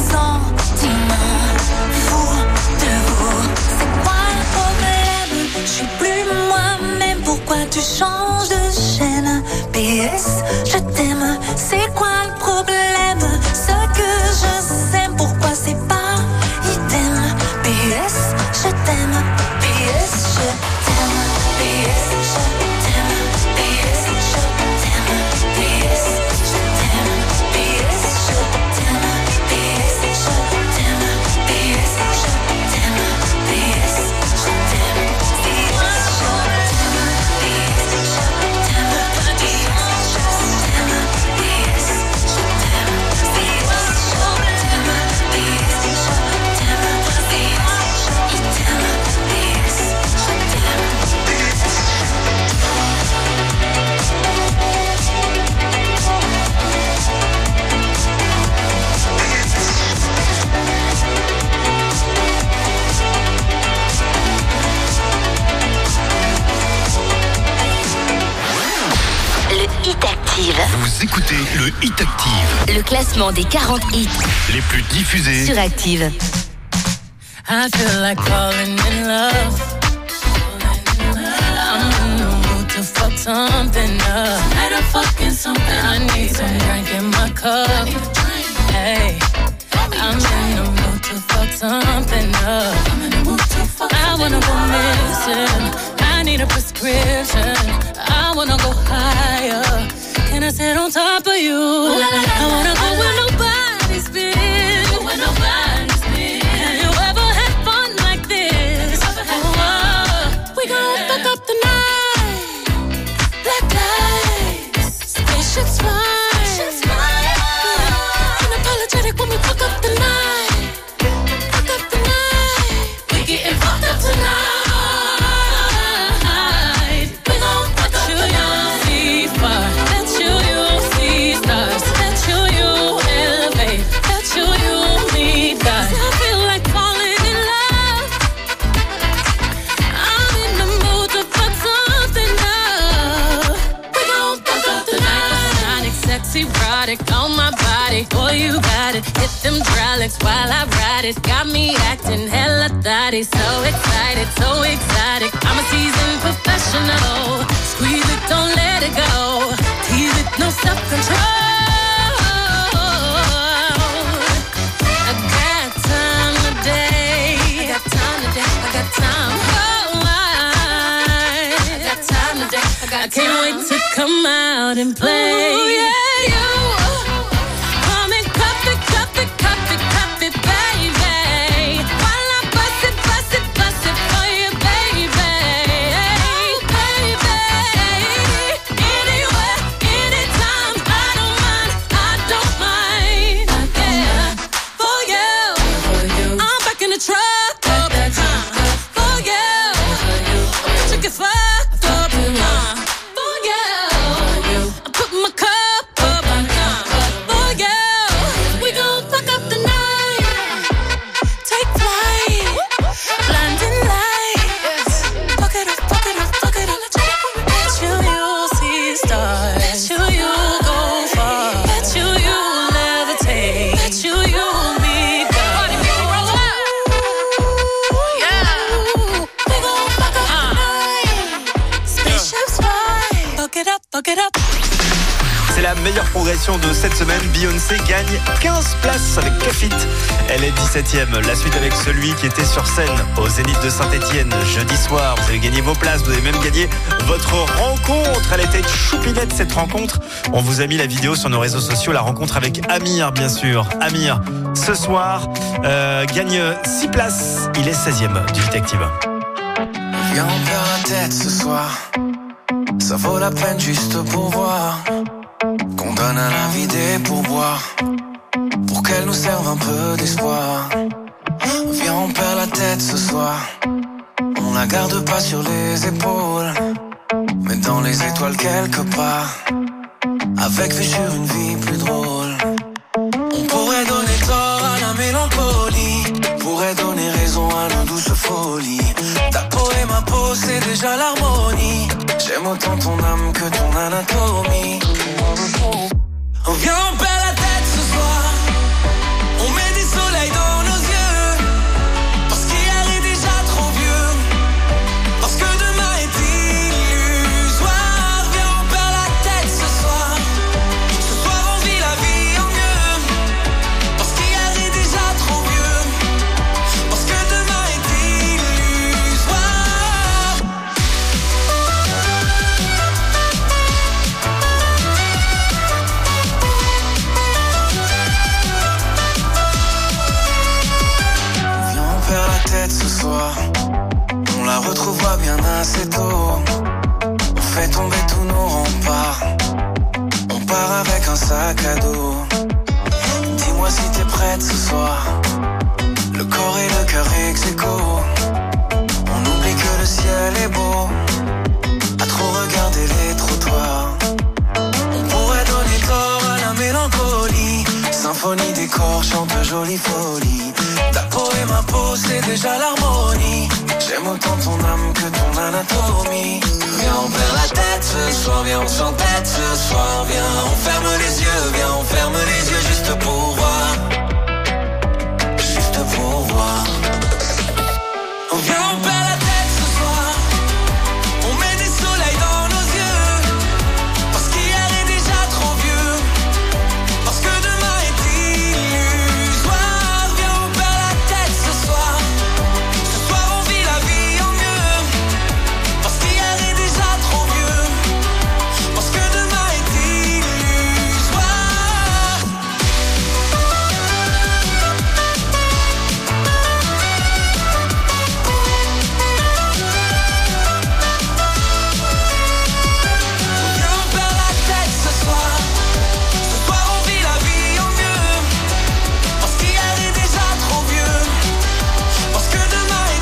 S16: Sentiment, fou de vous. C'est quoi le problème? Je suis plus moi-même, pourquoi tu changes de chaîne? P S, je t'aime. C'est quoi le problème? Ce que je sais, pourquoi c'est pas idem? P S, je t'aime. P S, je t'aime. P S, je t'aime. P S, je t'aime. P S, je t'aime. P S, je t'aime. P S, je t'aime. P S, je t'aime. P S, je t'aime. P S, je t'aime. P S, je t'aime. P S, je t'aime. P S, je t'aime. P S, je t'aime. P S, je t'aime. P S, je t'aime. P S, je t'aime.
S15: Le Hit Active,
S13: Vous écoutez le Hit Active,
S15: le classement des quarante hits
S13: les plus diffusés.
S15: sur Active.
S11: I feel like falling in love. I'm in the mood to fuck something up. Tonight I'm fucking something. I need some drink in my cup. Hey, I'm in the mood to fuck something up. I wanna go missing. I need a prescription. I wanna go higher. Can I sit on top of you? I wanna go where nobody's been. Where nobody's been. Have you ever had fun like this? Oh, we gon' fuck up the night. Black lights, spaceships fly. Unapologetic when we fuck up the night. Fuck up the night. We getting fucked up tonight. We gon' fuck up the night. See fire, let you, you see stars. Let you, you elevate. Let you, you lead God. I feel like falling in love. I'm in the mood to fuck something up. We gon' fuck up the night. Sonic, sexy, erotic on my body. Boy, you got it. Hit them hydraulics while I ride it. Got me acting hella thotty. So excited, so exotic. I'm a seasoned professional. Squeeze it, don't let it go. Tease it, no self-control. I got time today. I got time today. I got time. Oh, I out and play. Ooh, yeah, you come and cup it, cup it, cup it, cup it, baby. While I bust it, bust it, bust it for you, baby. Hey, baby. Anywhere, anytime, I don't mind, I don't mind. Yeah, for you, I'm back in the truck. For you, you get fucked up. Uh, for you, I put my cup up. Uh, for you, we gon' fuck up the night. Take flight, blinding lights. Fuck it up, fuck it up, fuck it up. Bet you you'll see stars. Bet you you'll go far. Bet you you'll levitate. Bet you you'll be gone. Party people roll up. Yeah, we gon' fuck up the night. Spaceships fly. Fuck it up, fuck it up.
S10: C'est la meilleure progression de cette semaine. Beyoncé gagne quinze places avec Kafit. Elle est dix-septième. La suite avec celui qui était sur scène au Zénith de Saint-Etienne jeudi soir. Vous avez gagné vos places, vous avez même gagné votre rencontre. Elle était choupinette cette rencontre. On vous a mis la vidéo sur nos réseaux sociaux. La rencontre avec Amir, bien sûr. Amir, ce soir, euh, gagne six places. Il est seizième du Hit Active.
S17: Viens, on perd la tête ce soir. Ça vaut la peine juste pour voir qu'on donne à la vie des pourboires pour qu'elle nous serve un peu d'espoir. Viens, on perd la tête ce soir. On la garde pas sur les épaules, mais dans les étoiles quelque part, avec vue sur une vie plus drôle. On pourrait donner tort à la mélancolie, pourrait donner raison à nos douces folies. Ta peau et ma peau, c'est déjà l'harmonie. J'aime autant ton âme que ton anatomie. On vient, on perd la tête ce soir. On met du soleil dans nos yeux, parce qu'hier est déjà trop vieux, parce que demain est illusoire. Viens, on perd la tête ce soir. Ce soir on vit la vie en mieux, parce qu'hier est déjà trop vieux, parce que demain est illusoire. Ce soir, on la retrouvera bien assez tôt. On fait tomber tous nos remparts. On part avec un sac à dos. Dis-moi si t'es prête ce soir. Le corps et le cœur ex aequo. On oublie que le ciel est beau, à trop regarder les trottoirs. On pourrait donner corps à la mélancolie. Symphonie des corps chante jolie folie. Ta peau et ma peau, c'est déjà l'harmonie. J'aime autant ton âme que ton anatomie. Viens, on perd la tête ce soir. Viens, on s'entête ce soir. Viens, on ferme les yeux. Viens, on ferme les yeux juste pour voir. Juste pour voir. On vient, on perd la tête ce soir. On met du soleil dans nos yeux, parce qu'hier est déjà trop vieux, parce que demain est illusoire. Viens, on perd la tête ce soir. Ce soir on vit la vie en mieux, parce qu'hier est déjà trop vieux, parce que demain est illusoire. Viens, on perd la tête ce soir. Ce soir on vit la vie en mieux, parce qu'hier est déjà trop vieux, parce que demain est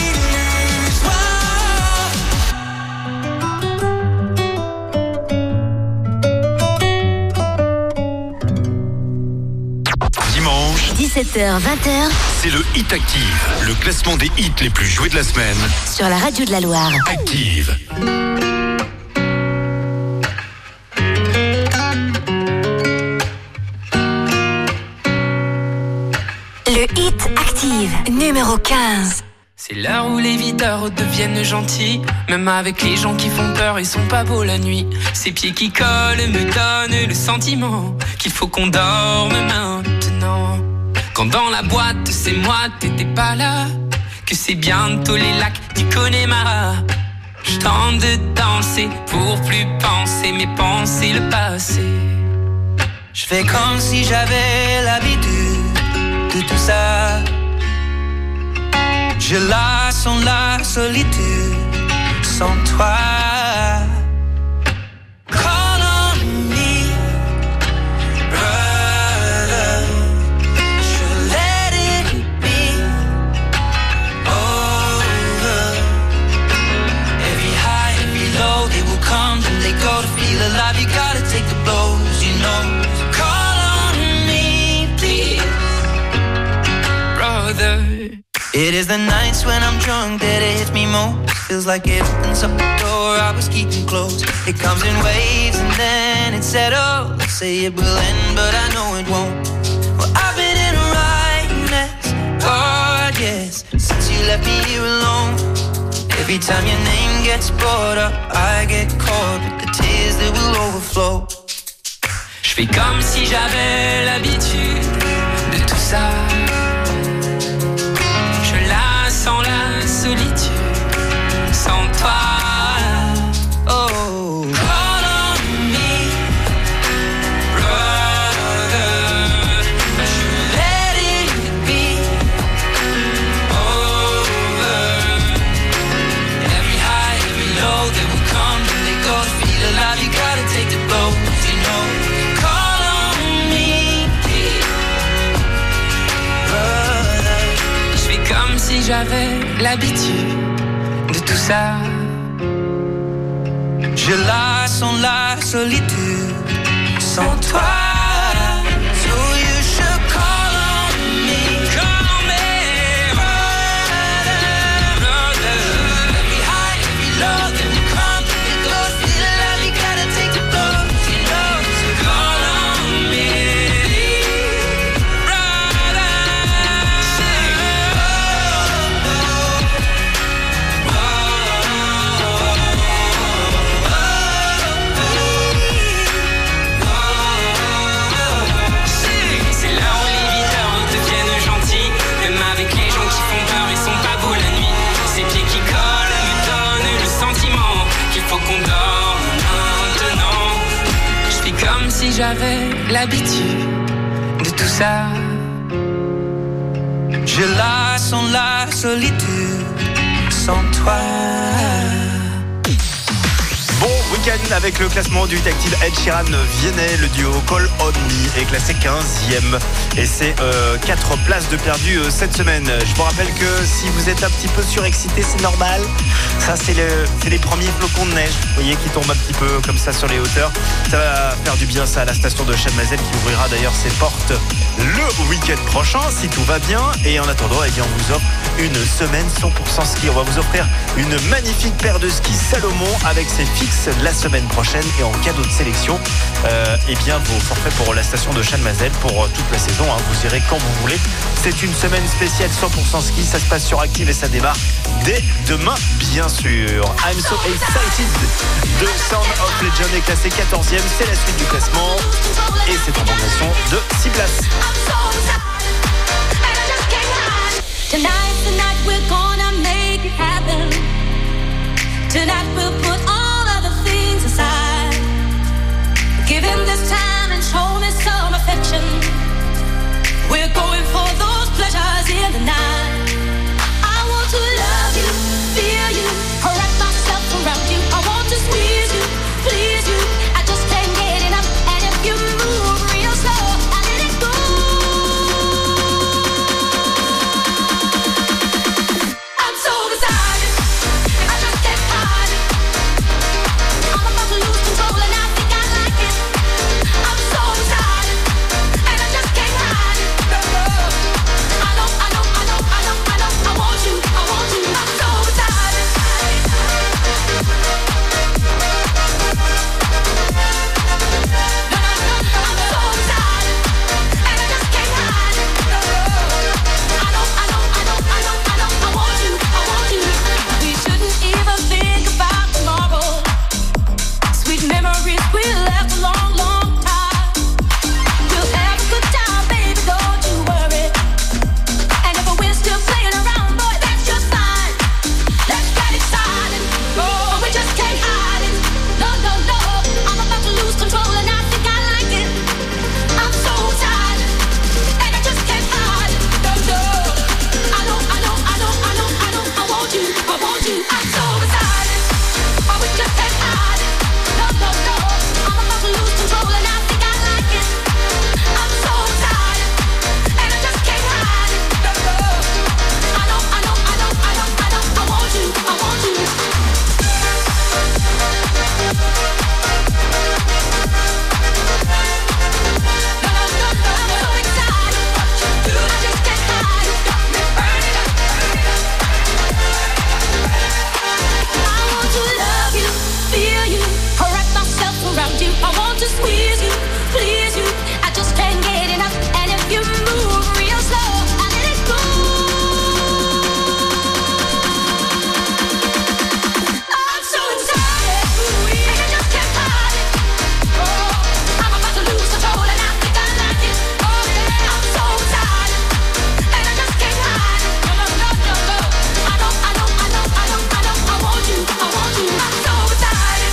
S17: illusoire.
S13: Dimanche,
S15: dix-sept heures vingt heures
S13: c'est le Hit Active, le classement des hits les plus joués de la semaine.
S15: sur la radio de la Loire.
S13: Active.
S15: Le Hit Active, numéro quinze.
S18: C'est l'heure où les videurs deviennent gentils. Même avec les gens qui font peur, ils sont pas beaux la nuit. Ces pieds qui collent me donnent le sentiment qu'il faut qu'on dorme maintenant. Quand dans la boîte, c'est moi, t'étais pas là. Que c'est bientôt les lacs du Connemara. Je tente de danser pour plus penser mes pensées le passé.
S14: Je fais comme si j'avais l'habitude de tout ça. Je la sens la solitude sans toi. Call on me, brother. Je let it be over. Every high, every low, they will come and they go. To feel alive, you gotta take the blows, you know. It is the nights when I'm drunk that it hits me most. Feels like it opens up the door I was keeping closed. It comes in waves and then it settles. Say it will end, but I know it won't. Well, I've been in a right mess, God, yes, since you left me here alone. Every time your name gets brought up, I get caught with the tears that will overflow.
S18: Je fais comme si j'avais l'habitude de tout ça. Sans la solitude, sans toi.
S14: Oh,
S18: call on me, brother. Je let it be over. Every high, every low, they will come and they go. To feel alive, you gotta take the blows, you know. Call on me, brother. Je fais comme si j'avais l'habitude de tout ça.
S14: Je la sens la solitude sans toi. So you should call on me.
S18: Call on me, brother, brother.
S14: Every high, every low, then we come, we go. Feel alive, you gotta take the blows, you know. So
S18: call on me, brother. Si j'avais l'habitude de tout ça.
S14: Je la sens la solitude sans toi.
S10: Bon week-end avec le classement du hit active. Ed Sheeran Vianney, le duo Call On Me est classé quinzième et c'est euh, quatre places de perdu euh, cette semaine. Je vous rappelle que si vous êtes un petit peu surexcité, c'est normal. Ça c'est, le, c'est les premiers flocons de neige, vous voyez, qui tombent un petit peu comme ça sur les hauteurs. Ça va faire du bien ça à la station de Chalmazel qui ouvrira d'ailleurs ses portes le week-end prochain si tout va bien. Et en attendant, eh bien, on vous offre une semaine cent pour cent ski. On va vous offrir une magnifique paire de skis Salomon avec ses fixes la semaine prochaine et en cadeau de sélection euh, eh bien vos forfaits pour la station de Chalmazel pour toute la saison, hein. Vous irez quand vous voulez. C'est une semaine spéciale cent pour cent ski. Ça se passe sur Active et ça démarre dès demain bien sûr. I'm so excited. The Sound of Legend est classé quatorzième. C'est la suite du classement et c'est en progression de six places.
S4: Tonight, tonight we're gonna make it happen. Tonight we'll put all other things aside. Give him this time and show me some affection. We're going for those pleasures in the night. I want to love you, feel you, wrap myself around you. I want to squeeze you, please you. I just can't get enough. And if you move real slow, I let it go. I'm so beside it, I just can't hide it. I'm about to lose control and I think I like it. I'm so beside it, and I just can't hide it. to squeeze you, please you. I just can't get enough. And if you move real slow, I let it go. I'm so excited, and I just can't hide it. Oh, I'm about to lose control and I think I like it. Oh yeah, I'm so excited, and I just can't hide it. No, no, no, no, no. I know, I know, I know, I know, I know. I want you, I want you. I'm so excited.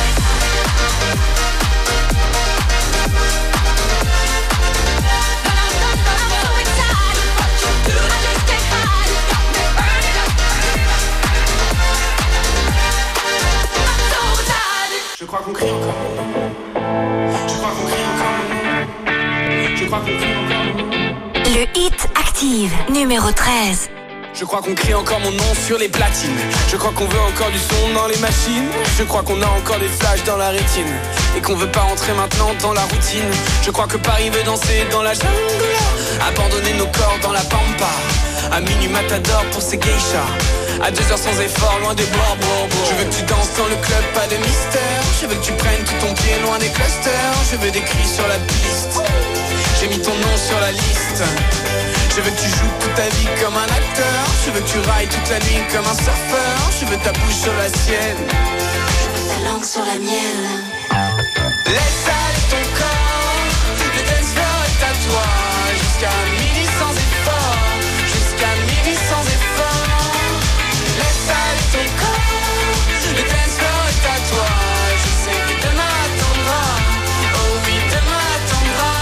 S2: Je crois qu'on crie encore. Je crois qu'on crie encore. Je crois qu'on crie encore.
S15: Le hit Active, numéro treize.
S2: Je crois qu'on crie encore mon nom sur les platines. Je crois qu'on veut encore du son dans les machines. Je crois qu'on a encore des flashs dans la rétine. Et qu'on veut pas rentrer maintenant dans la routine. Je crois que Paris veut danser dans la jungle. Abandonner nos corps dans la pampa. À minuit matador pour ces geishas. À deux heures sans effort, loin des bois, bois, bois. Je veux que tu danses dans le club, pas de mystère. Je veux que tu prennes tout ton pied loin des clusters. Je veux des cris sur la piste. J'ai mis ton nom sur la liste. Je veux que tu joues toute ta vie comme un acteur. Je veux que tu railles toute la nuit comme un surfeur. Je veux ta bouche sur la sienne.
S4: Je veux ta langue sur la mienne.
S2: Laisse aller ton corps. Le dance floor est à toi. Jusqu'à midi sans effort. Jusqu'à midi sans effort. Laisse aller ton corps. Le dance floor est à toi. Je sais que demain attendra. Oh oui, demain attendra.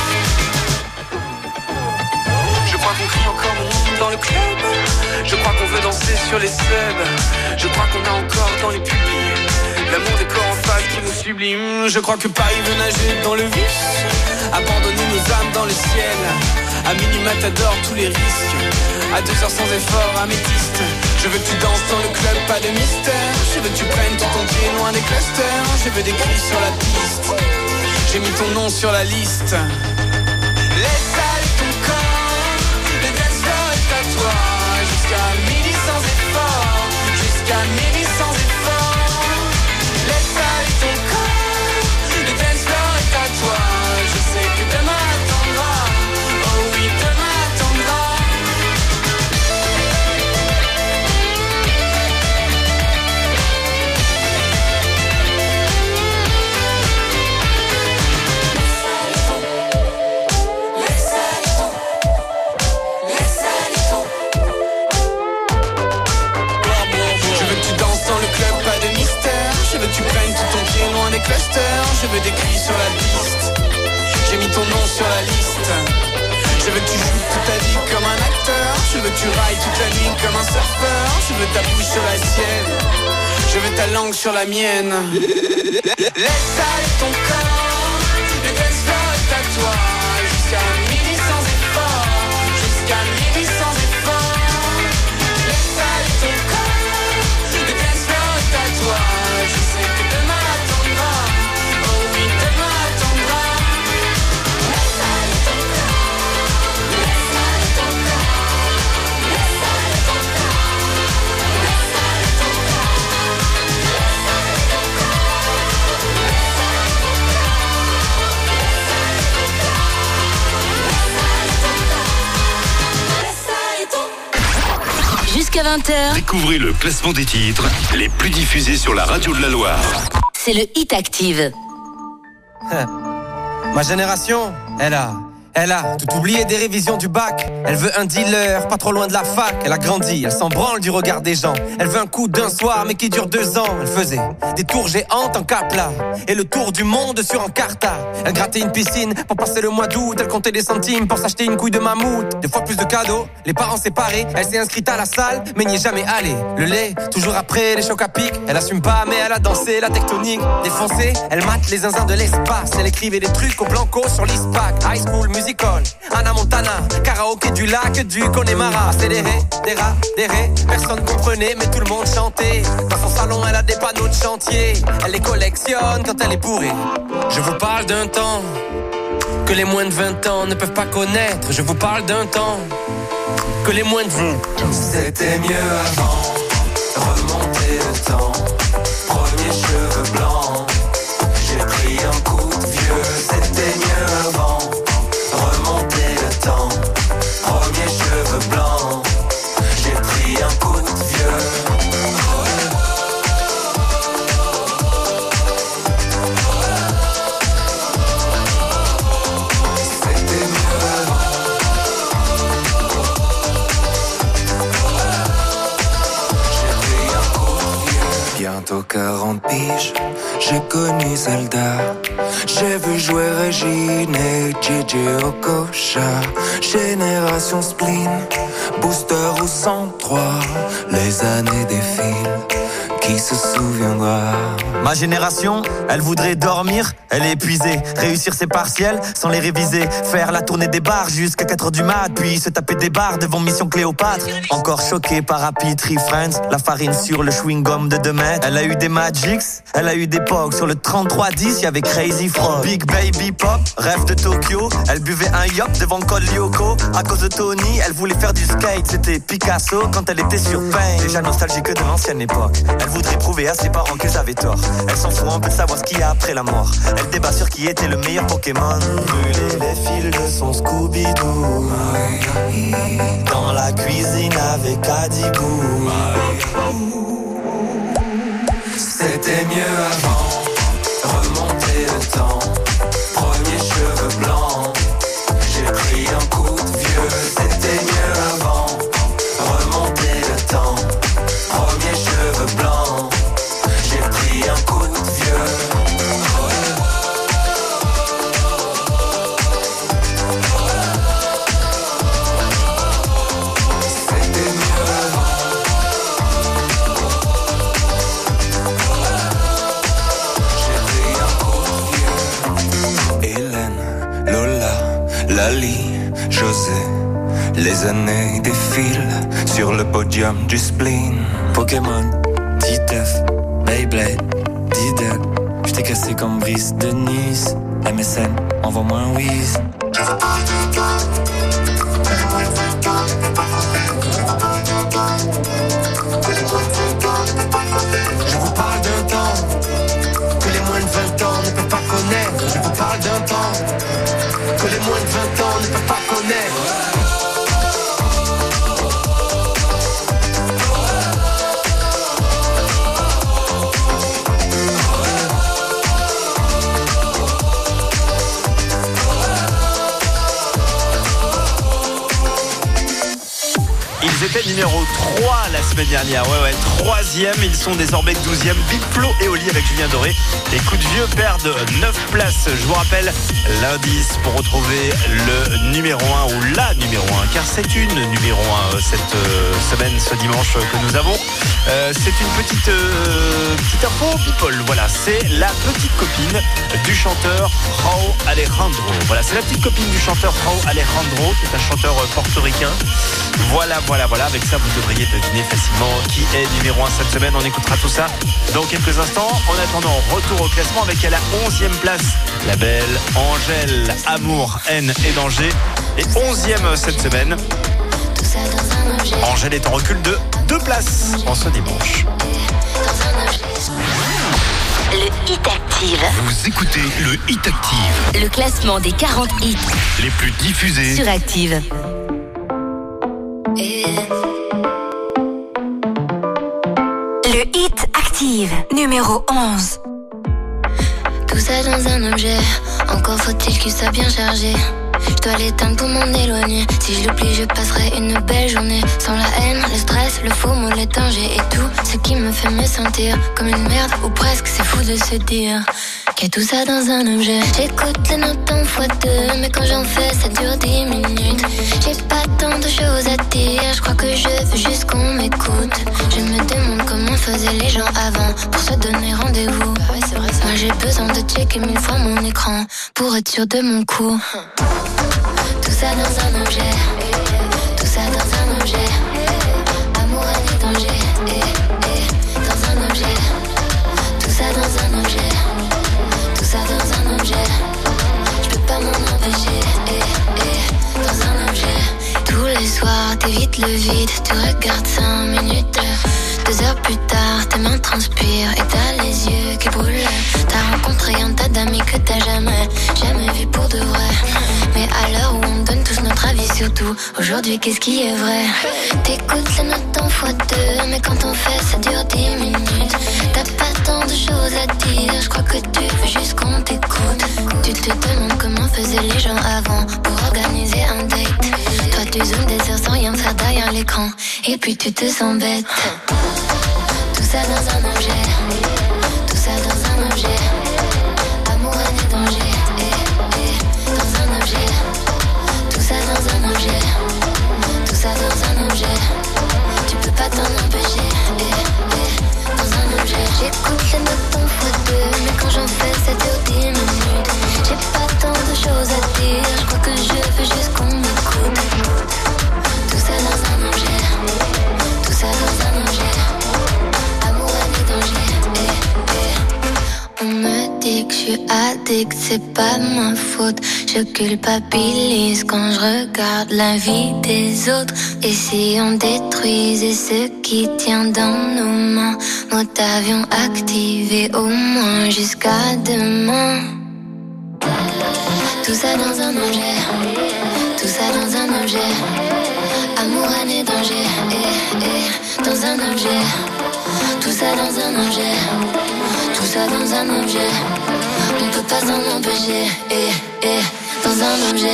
S2: Je crois qu'on crie encore mon nom dans le club. Je crois qu'on veut danser sur les subs. Je crois qu'on a encore dans les pupilles l'amour des corps en face qui nous sublime. Je crois que Paris veut nager dans le vice. Abandonner nos âmes dans le ciel. À minuit matador tous les risques. À deux heures sans effort, améthyste. Je veux que tu danses dans le club, pas de mystère. Je veux que tu prennes tout ton pied loin des clusters. Je veux des cris sur la piste. J'ai mis ton nom sur la liste. Laisse aller ton corps. Le dance floor est à toi. Jusqu'à midi sans effort. Jusqu'à midi sans effort. Laisse aller ton corps. Le dance floor est à toi. Je sais que demain attendra. Oh oui, demain attendra. Tu prennes tout ton pied loin des clusters. Je veux des cris sur la piste. J'ai mis ton nom sur la liste. Je veux que tu joues toute ta vie comme un acteur. Je veux que tu railles toute la nuit comme un surfeur. Je veux ta bouche sur la sienne. Je veux ta langue sur la mienne. Laisse aller ton corps. Le dance floor est à toi. Jusqu'à midi sans effort. Jusqu'à midi sans effort. Laisse aller ton corps. Le dance floor est à toi. Je sais que demain attendra. Oh oui, demain attendra. Laisse aller ton corps. Laisse aller ton corps. Laisse aller ton corps. Laisse aller ton corps. Laisse aller ton corps. Laisse aller ton corps. Laisse aller ton corps.
S15: Jusqu'à vingt heures.
S13: Découvrez le classement des titres les plus diffusés sur la radio de la Loire.
S15: C'est le Hit Active.
S19: Ma génération, elle a, elle a tout oublié des révisions du bac. Elle veut un dealer, pas trop loin de la fac. Elle a grandi, elle s'en branle du regard des gens. Elle veut un coup d'un soir, mais qui dure deux ans. Elle faisait des tours géantes en Capla et le tour du monde sur Encarta. Elle grattait une piscine pour passer le mois d'août. Elle comptait des centimes pour s'acheter une couille de mammouth. Des fois plus de cadeaux, les parents séparés. Elle s'est inscrite à la salle, mais n'y est jamais allée. Le lait, toujours après les chocs à pic. Elle assume pas, mais elle a dansé la tectonique. Défoncée, elle mate les zinzins de l'espace. Elle écrivait des trucs au blanco sur l'ISPAC. High School Musical, Anna Montana, karaoké du lac du Connemara. Accéléré, des rats, des raies. Personne comprenait, mais tout le monde chantait. Dans son salon, elle a des panneaux de chantier. Elle les collectionne quand elle est bourrée. Je vous parle d'un temps que les moins de vingt ans ne peuvent pas connaître. Je vous parle d'un temps que les moins de vingt ans.
S14: C'était mieux avant, remonter le temps. Premier cheveux blancs, j'ai pris un coup de
S17: quarante piges, j'ai connu Zelda. J'ai vu jouer Régine et J J Okocha. Génération spleen, booster ou cent trois. Les années défilent, qui se souviendra?
S14: Ma génération, elle voudrait dormir, elle est épuisée. Réussir ses partiels sans les réviser. Faire la tournée des bars jusqu'à quatre heures du mat. Puis se taper des bars devant Mission Cléopâtre. Encore choqué par Happy Tree Friends. La farine sur le chewing-gum de deux mètres. Elle a eu des Magics, elle a eu des Pogs. Sur le trente-trois dix, y'avait Crazy Frog. Big Baby Pop, rêve de Tokyo. Elle buvait un yop devant Col Lyoko. À cause de Tony, elle voulait faire du skate. C'était Picasso quand elle était sur Pain. Déjà nostalgique de l'ancienne époque. Elle voudrait prouver à ses parents qu'ils avaient tort. Elle s'en fout un peu de savoir ce qu'il y a après la mort. Elle débat sur qui était le meilleur Pokémon. Brûler les fils de son Scooby-Doo. Dans la cuisine avec Adibou.
S17: C'était mieux avant, remonter le temps. Premier cheveux blancs, j'ai pris un coup de vieux. C'était mieux avant, remonter le temps. Premier cheveux blancs, j'ai pris un coup de vieux. C'était mieux avant. J'ai pris un coup de vieux. Hélène, Lola, Lali, José. Les années défilent sur le podium du spleen.
S14: Pokémon, Titeuf, Beyblade, Diddle. J't'ai cassé comme Brice de Nice. M S N, envoie-moi un whiz.
S17: Je vous parle d'un temps que les moins de vingt ans ne peuvent pas connaître. Je vous parle d'un temps que les moins de vingt ans ne peuvent pas connaître.
S10: Ils étaient numéro trois la semaine dernière. Ouais, ouais, troisième. Ils sont désormais douzième. Big Flo et Oli avec Julien Doré. Les coups de vieux perdent neuf places. Je vous rappelle l'indice pour retrouver le numéro un ou la numéro un. Car c'est une numéro un cette euh, semaine, ce dimanche que nous avons. Euh, c'est une petite, euh, petite info people. Voilà, c'est la petite copine du chanteur Rauw Alejandro. Voilà, c'est la petite copine du chanteur Rauw Alejandro, qui est un chanteur portoricain. Voilà, voilà, voilà. Avec ça, vous devriez deviner facilement qui est numéro un cette semaine. On écoutera tout ça dans quelques instants. En attendant, retour au classement avec à la onzième place la belle Angèle. Amour, haine et danger. Et onzième cette semaine. Angèle est en recul de deux places en ce dimanche.
S15: Le Hit Active.
S13: Vous écoutez le Hit Active.
S15: Le classement des quarante hits
S13: Les plus diffusés
S15: sur Active. Le Hit Active, numéro onze.
S7: Tout ça dans un objet, encore faut-il qu'il soit bien chargé. Je dois l'éteindre pour m'en éloigner. Si je l'oublie, je passerai une belle journée. Sans la haine, le stress, le faux mot, les dangers et tout ce qui me fait me sentir comme une merde ou presque. C'est fou de se dire qu'il y a tout ça dans un objet. J'écoute les notes en fois deux, mais quand j'en fais, ça dure dix minutes. J'ai pas tant de choses à dire, je crois que je veux juste qu'on m'écoute. Je me demande comment faisaient les gens avant pour se donner rendez-vous. Ah ouais, c'est vrai, ça. Moi j'ai besoin de checker mille fois mon écran pour être sûr de mon coup. Tout ça dans un objet, tout ça dans un objet. Amour, haine et danger, eh, eh, dans un objet. Tout ça dans un objet, tout ça dans un objet. Je peux pas m'en empêcher, eh, eh, dans un objet. Tous les soirs, t'évites le vide, tu regardes cinq minutes. Deux heures plus tard, tes mains transpirent et t'as les yeux qui brûlent. T'as rencontré un tas d'amis que t'as jamais, jamais vu pour de vrai. Mais à l'heure où on donne tous notre avis sur tout, aujourd'hui qu'est-ce qui est vrai? T'écoutes les notes en fois deux, mais quand on fait ça dure dix minutes. T'as pas tant de choses à dire, je crois que tu veux juste qu'on t'écoute. Tu te demandes comment faisaient les gens avant pour organiser un date. Toi tu zoomes des heures sans rien faire derrière l'écran, et puis tu te sens bête. Tout ça dans un objet, tout ça dans un objet. Amour, haine et danger, eh, eh, dans un objet. Tout ça dans un objet, tout ça dans un objet. Tu peux pas t'en empêcher, eh, eh, dans un objet. J'écoute les notes en fois deux, mais quand j'en fais ça dure dix minutes. J'ai pas tant de choses à dire, je crois que je veux juste qu'on m'écoute. Tout ça dans un objet, tout ça dans un objet. Amour, haine et danger, eh, eh. On me dit que je suis addict, c'est pas ma faute. Je culpabilise quand je regarde la vie des autres. Et si on détruisait ce qui tient dans nos mains, mode avion activé au moins jusqu'à demain. Tout ça dans un objet, tout ça dans un objet. Amour, haine et danger, eh, eh, dans un objet. Tout ça dans un objet, tout ça dans un objet. On peut pas s'en empêcher, eh, eh, dans un objet.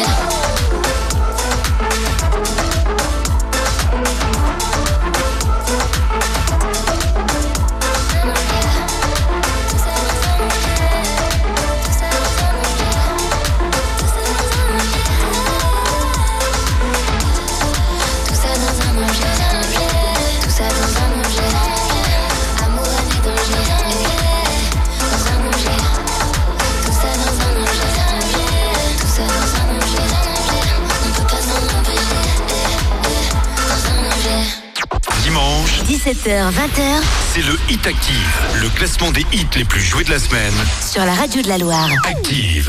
S15: dix-sept heures vingt heures.
S13: C'est le Hit Active, le classement des hits les plus joués de la semaine.
S15: Sur la radio de la Loire.
S13: Active.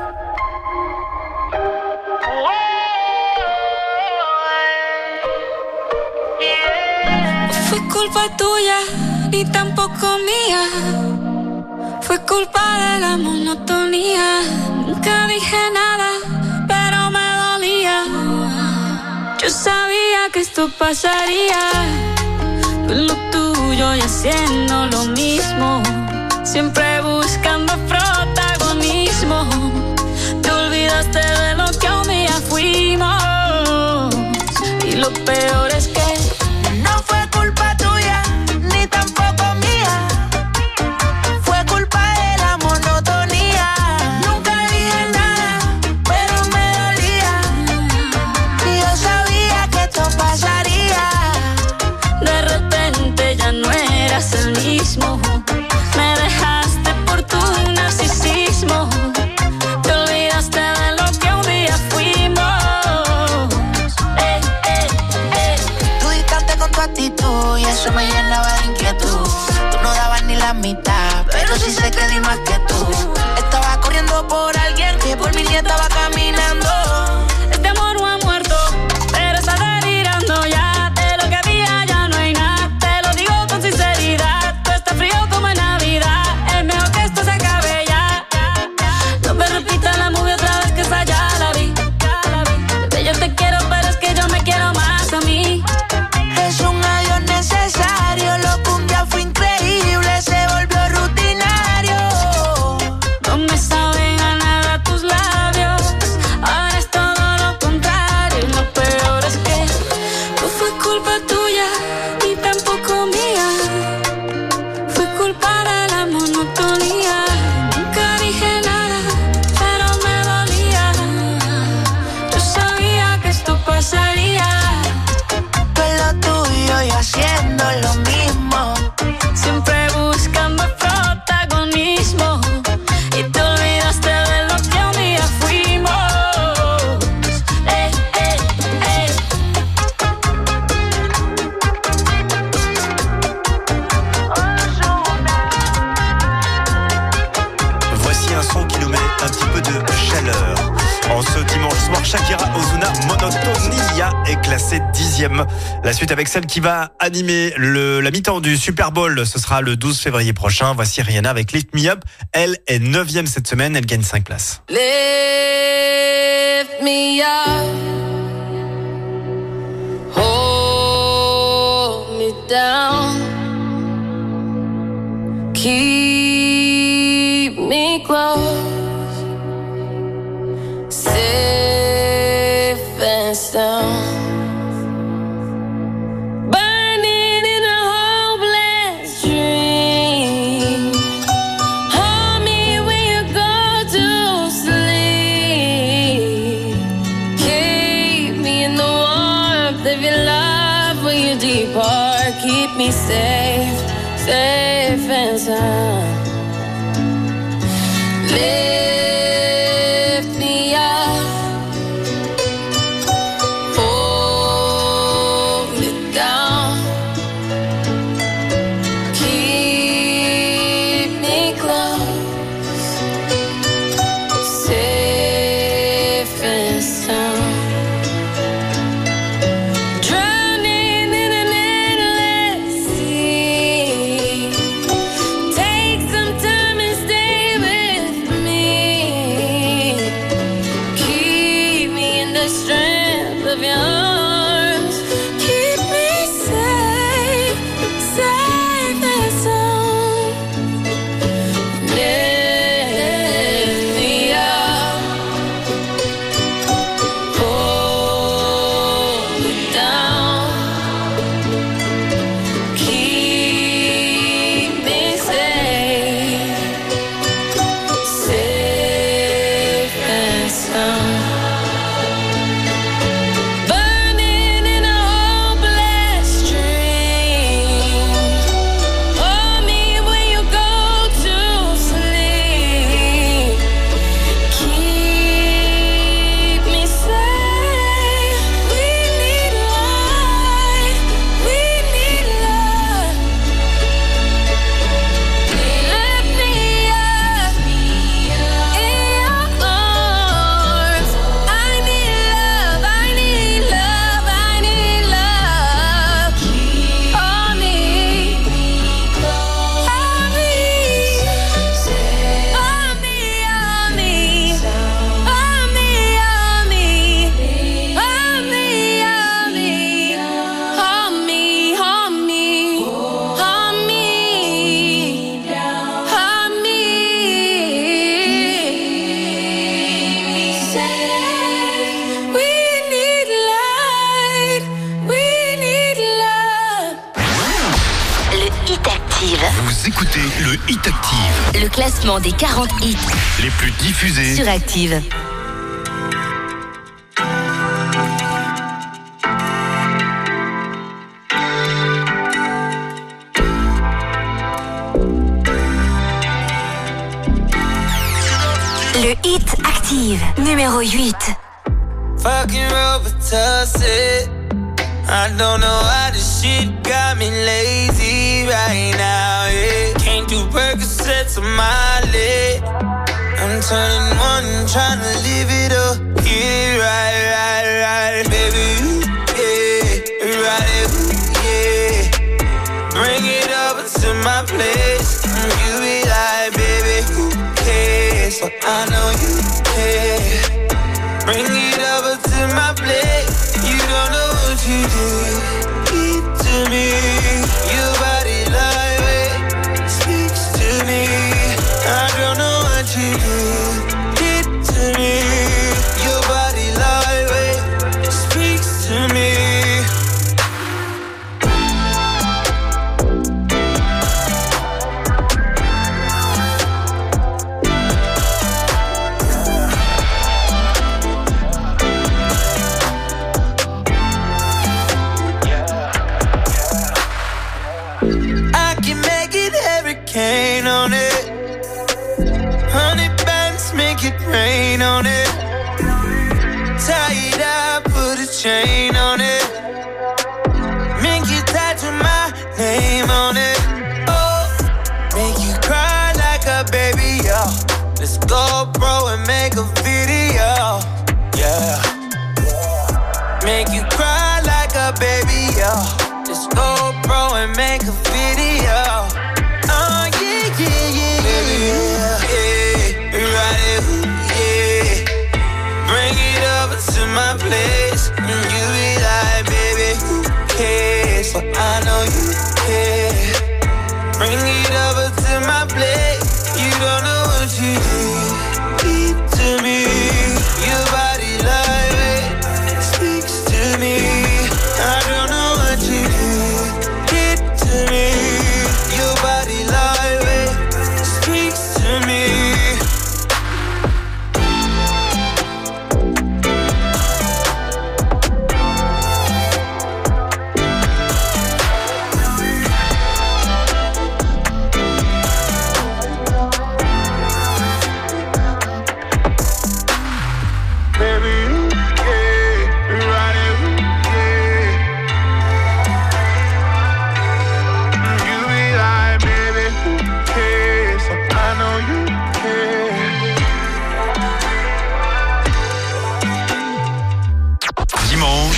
S11: Fue culpa tuya, ni tampoco mía. Fue culpa de la monotonía. Nunca dije nada, pero me dolía. Yo sabía que esto pasaría. Tú en lo tuyo y haciendo lo mismo. Siempre buscando protagonismo. Te olvidaste de lo que un día fuimos. Y lo peor es que
S20: no fue culpa tuya, ni tampoco mía. Fue culpa de la monotonía. Nunca dije nada, pero me dolía. Y yo sabía que esto pasaría.
S11: de repente ya no eras el mismo. Me dejaste por tu narcisismo. Te olvidaste de lo que un día fuimos. Eh, eh, eh.
S20: Tú distante con tu actitud y eso me llenaba de inquietud. Tú no dabas ni la mitad, pero sí sé que di más que tú. Estaba corriendo por alguien que por mí ni estaba caminando.
S11: Este amor no ha muerto, pero está delirando ya. De lo que había ya no hay nada. Te lo digo con sinceridad. Tú estás frío como en Navidad. Es mejor que esto se acabe ya. No me repitas la movie otra vez que esa ya la vi. Bebé, yo te quiero, pero es que yo me quiero más a mí.
S20: Es un adiós necesario. Lo que un día fue increíble se volvió rutinario.
S11: No me saben a nada tus labios. Ahora es todo lo contrario. Y lo peor es que no fue culpa tuya, ni tampoco mía. Fue culpa de la monotonía. Nunca dije nada, pero me dolía. Yo sabía que esto pasaría.
S20: Tú en lo tuyo y haciendo lo mismo.
S11: Siempre buscando protagonismo. Y te olvidaste de lo que un día fuimos. Eh, eh, eh.
S10: Voici un son qui nous met un petit peu de chaleur. En ce dimanche soir, Shakira Ozuna Monotonia est classée dixième. La suite avec celle qui va animer le, la mi-temps du Super Bowl, ce sera le douze février prochain. Voici Rihanna avec Lift Me Up. Elle est neuvième cette semaine, elle gagne cinq places.
S11: Lift me up, hold me down, keep me close, safe and sound, burning in a hopeless
S3: keep me safe, safe and sound. Lift me up, hold me down, keep me close, safe and sound. Drowning in an endless sea. Take some time and stay with me. Keep me in the strength of your arms. Keep me safe, safe and sound. Lift me up, hold me down, keep me safe, safe and sound. Burning in a hopeless dream. Hold me when you go to sleep. Keep me safe. We need light. We need love. Lift me up in your arms. I need love. I need love. I need love. Hold me, hold me, hold me, hold me, hold me, hold me, hold me, hold me, hold me, hold me, hold me, safe. We need light. We need love.
S15: Le Hit Active.
S13: Vous écoutez le Hit Active.
S15: Le classement des quarante hits
S13: Les plus diffusés
S15: sur Active. Le Hit Active, numéro huit.
S14: Fucking Robitussin. I don't know how this shit got me lazy right now. Yeah. Can't do Percocets on my leg. I'm turning one, trying to live it up. Yeah, right, right, right, baby. Yeah, right, yeah. Bring it over to my place. You be like, baby, who cares? But I know you care. Bring it over to my place. You don't know what you do. Keep to me. Your body lightweight speaks to me. I don't know what you do. Keep to me. Your body lightweight speaks to me.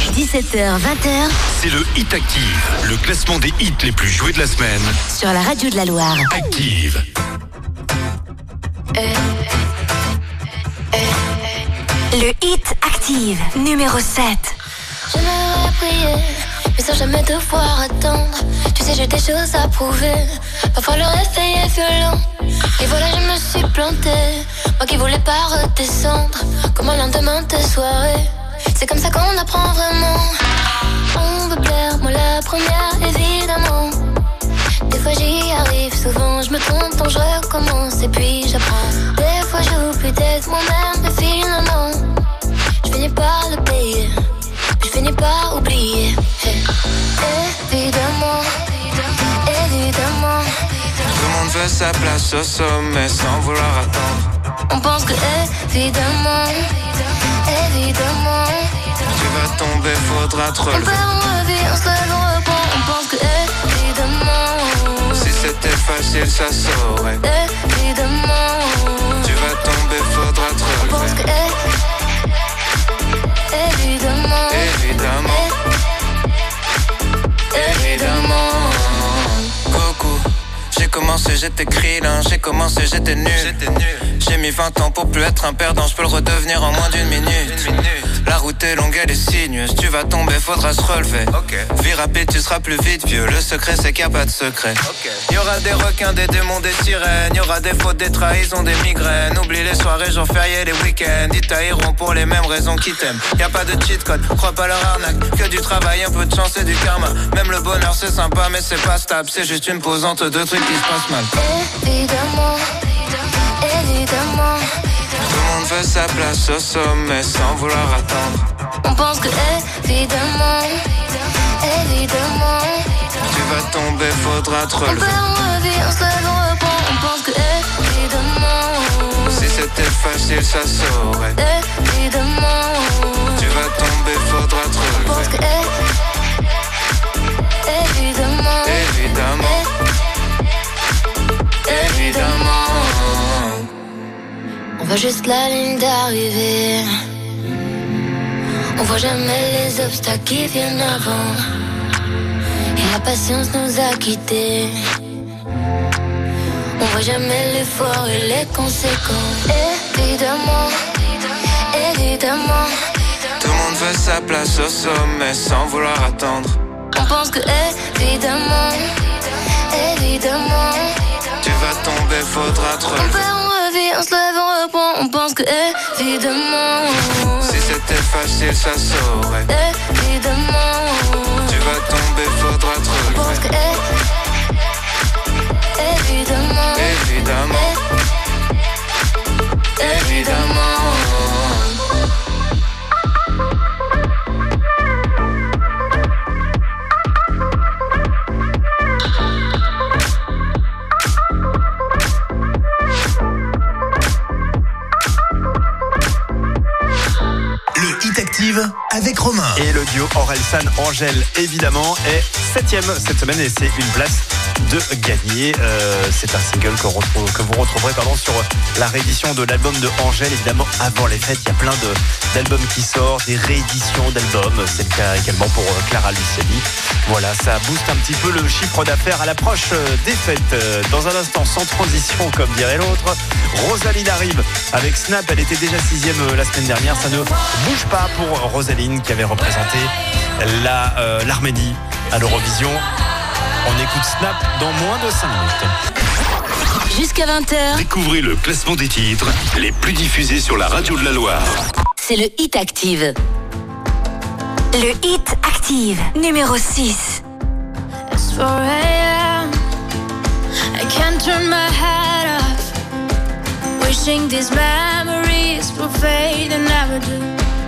S15: dix-sept heures vingt heures
S13: C'est le Hit Active, le classement des hits les plus joués de la semaine.
S15: sur la radio de la Loire.
S13: Active.
S15: Le Hit Active, numéro sept.
S7: J'aimerais prier, mais sans jamais devoir attendre. Tu sais, j'ai des choses à prouver. Parfois le réveil est violent. Et voilà, je me suis plantée. Moi qui voulais pas redescendre. Comme un lendemain de soirée. C'est comme ça qu'on apprend vraiment. On veut plaire, moi la première, évidemment. Des fois j'y arrive, souvent je me trompe, donc je recommence et puis j'apprends. Des fois j'oublie d'être moi-même, mais finalement je finis par le payer. Je finis par oublier. Hey. Évidemment, évidemment.
S17: Tout le monde veut sa place au sommet sans vouloir attendre.
S7: On pense que évidemment, évidemment.
S17: Tu vas tomber, faudra te
S7: On
S17: relever.
S7: perd, on revit, on se lève, on reprend. On pense que évidemment.
S17: Si c'était facile, ça saurait.
S7: Évidemment.
S17: Tu vas tomber, faudra te
S7: On pense que
S17: relever.
S7: évidemment.
S17: Évidemment. Évidemment. Coucou. J'ai commencé, j'étais krillin, j'ai commencé, j'étais nul. J'ai mis vingt ans pour plus être un perdant, je peux le redevenir en moins d'une minute. La route est longue, elle est sinueuse, tu vas tomber, faudra se relever. Vie rapide, tu seras plus vite vieux, le secret c'est qu'il n'y a pas de secret. Y aura des requins, des démons, des sirènes, y aura des fautes, des trahisons, des migraines. Oublie les soirées, jours fériés, les week-ends, ils tailleront pour les mêmes raisons qu'ils t'aiment. Y a pas de cheat code, crois pas leur arnaque, que du travail, un peu de chance et du karma. Même le bonheur c'est sympa mais c'est pas stable, c'est juste une posante de trucs qui se passent mal.
S7: Évidemment, évidemment.
S17: Tout le monde veut sa place au sommet sans vouloir attendre.
S7: On pense que évidemment, évidemment.
S17: Tu vas tomber, faudra te
S7: On
S17: relever.
S7: perd, on revit, on se lève, on reprend. On pense que évidemment.
S17: Si c'était facile, ça saurait.
S7: Évidemment.
S17: Tu vas tomber, faudra te
S7: On pense que
S17: relever.
S7: évidemment.
S17: Évidemment. Évidemment.
S7: On voit juste la ligne d'arrivée. On voit jamais les obstacles qui viennent avant. Et la patience nous a quittés. On voit jamais l'effort et les conséquences. Évidemment, évidemment.
S17: Tout le monde veut sa place au sommet sans vouloir attendre.
S7: On pense que évidemment, évidemment.
S17: Tu vas tomber, faudra te
S7: On
S17: relever.
S7: perd, on revit, on se lève, on reprend. On pense que évidemment.
S17: Si c'était facile, ça saurait.
S7: Évidemment.
S17: Tu vas tomber, faudra te
S7: On pense que
S17: relever.
S7: évidemment.
S17: Évidemment. Évidemment.
S5: Le Hit Active avec Romain.
S10: Et le duo Orelsan Angèle, évidemment, est septième cette semaine et c'est une place de gagner. Euh, c'est un single que, retrouve, que vous retrouverez pardon, sur la réédition de l'album de Angèle. Évidemment, avant les fêtes, il y a plein de, d'albums qui sortent, des rééditions d'albums. C'est le cas également pour Clara Luciani. Voilà, ça booste un petit peu le chiffre d'affaires à l'approche des fêtes. Dans un instant, sans transition, comme dirait l'autre, Rosaline arrive avec Snap. Elle était déjà sixième la semaine dernière. Ça ne bouge pas pour Rosaline qui avait représenté la, euh, l'Arménie à l'Eurovision. On écoute Snap dans moins de cinq minutes.
S15: Jusqu'à vingt heures,
S13: Découvrez le classement des titres les plus diffusés sur la radio de la Loire.
S15: c'est le Hit Active. Le Hit Active, numéro six.
S11: It's four a.m. I can't turn my head off. Wishing these memories will fade and never do.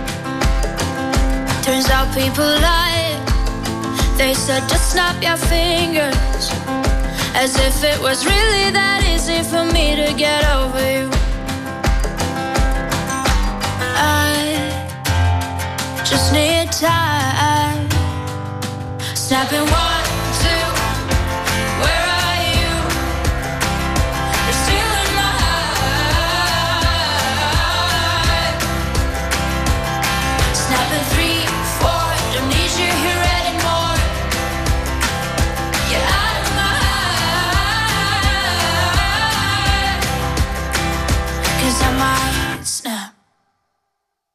S11: Turns out people lie. They said just snap your fingers. As if it was really that easy for me to get over you. I just need time. Snapping one, two, where are you? You're still in my heart. Snapping three, four,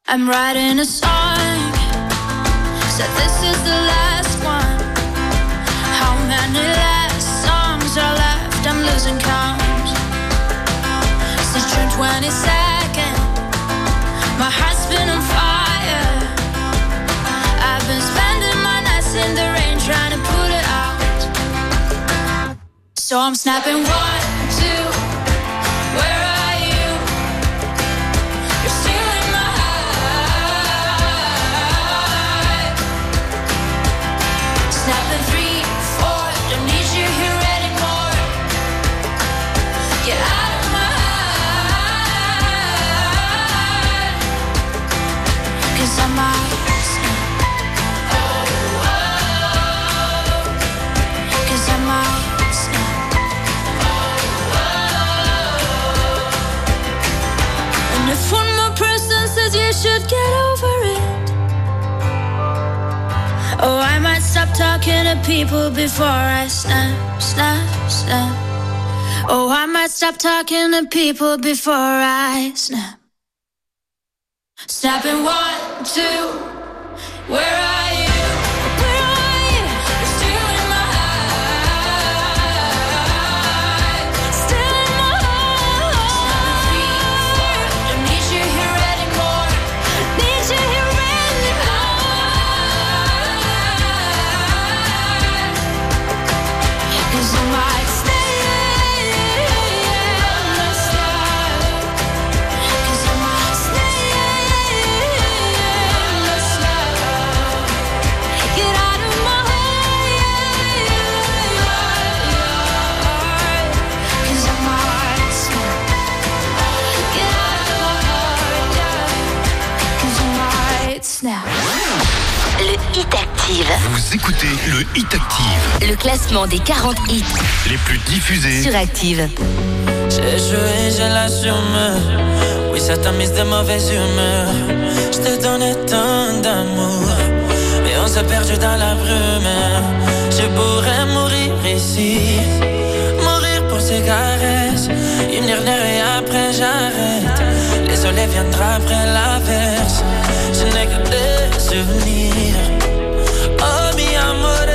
S7: I'm writing a song, said this is the last one. How many last songs are left? I'm losing count. Since June twenty-second, my heart's been on fire. I've been spending my nights in the rain trying to put it out. So I'm snapping one, two, where are you? You're stealing my heart. Snapping three, four, don't need you here anymore. Get out of my heart. 'Cause I might snap. Oh, oh. 'Cause I might snap. And if one more person says you should get over it, oh, I might stop talking to people before I snap, snap, snap. Oh, I might stop talking to people before I snap. Snapping one, two, where are you? Where are you? You're stealing my heart. Stealing my heart. Three, four, don't need you here anymore. Need you here anymore. 'Cause I might stay. Cause I might stay. Get out of my heart. 'Cause I might snap. Get out of my heart, yeah. 'Cause I might snap.
S15: Le Hit Active.
S13: Vous écoutez le Hit Active.
S15: Le classement des quarante hits
S13: Les plus diffusés
S15: sur Active.
S14: J'ai joué, j'ai l'assume. Oui, ça t'a mise de mauvaise humeur. Je t'ai donné tant d'amour, mais on s'est perdu dans la brume. Je pourrais mourir ici, mourir pour ces caresses. Une dernière et après j'arrête. Les soleils viendront après l'averse. Je n'ai que des souvenirs. Oh mi amore,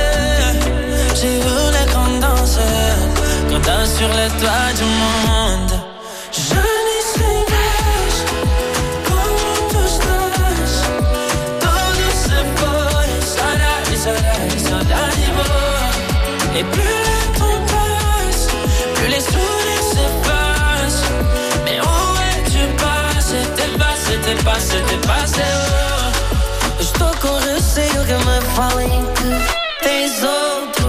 S14: j'ai voulu qu'on danse, qu'on danse sur les toits du monde. Je n'y sais pas comment tout se passe. Tout se passe, ça n'a, ça n'a, ça n'a ni mot. Et plus le temps passe, plus les sourires s'effacent. Mais où es-tu passé? T'es passé, t'es passé, t'es passé, oh. Estou com receio que me falem que tens outro.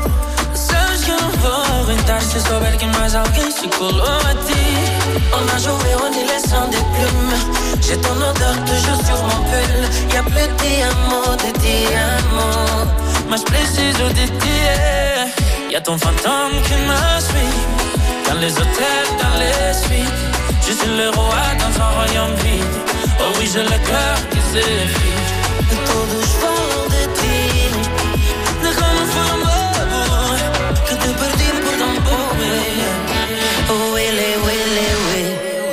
S14: Sabes que eu não vou aguentar se souber que mais alguém se colou a ti. On a joué en élection des plumes. J'ai ton odeur toujours sur mon pull. Y'a plus de diamants, de diamants. Mas preciso de ti. Y'a ton fantôme qui me suit. Dans les hôtels, dans les suites. Je suis le roi dans un royaume vide. Oh oui, j'ai le cœur qui s'effrite. Todos falam de ti, de como foi amor, que te perdi por tão pouco. Oh, ele, ele, ele.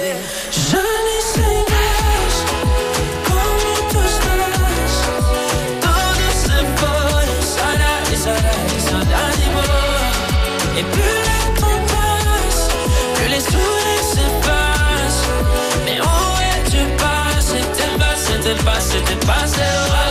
S14: Je n'y sais pas como tu estás. Todo se foi, será, será, será de boa. Et plus le temps passe, plus les sourires s'effacent. Mais où es-tu passé? T'es passé, t'es passé, t'es passé.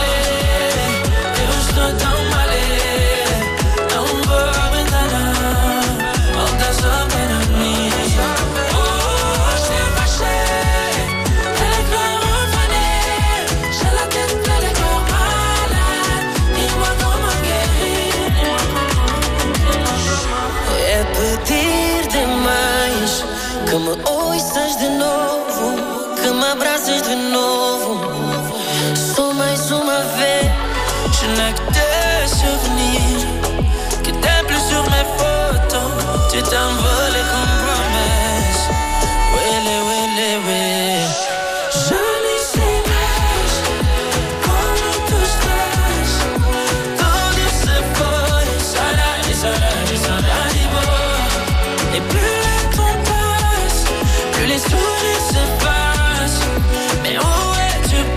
S14: Que me ouças de novo, que me abraças de novo. Só mais uma vez. Je n'ai que des souvenirs, que t'es plus sur mes photos. Tu t'envoles comme promesse. Wele, wele, wele. Je n'y sais pas comment tu estás. Todo se foi, será, será, será de boa. Et plus les sourires s'effacent. Mais où es-tu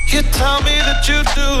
S21: You tell me that you do.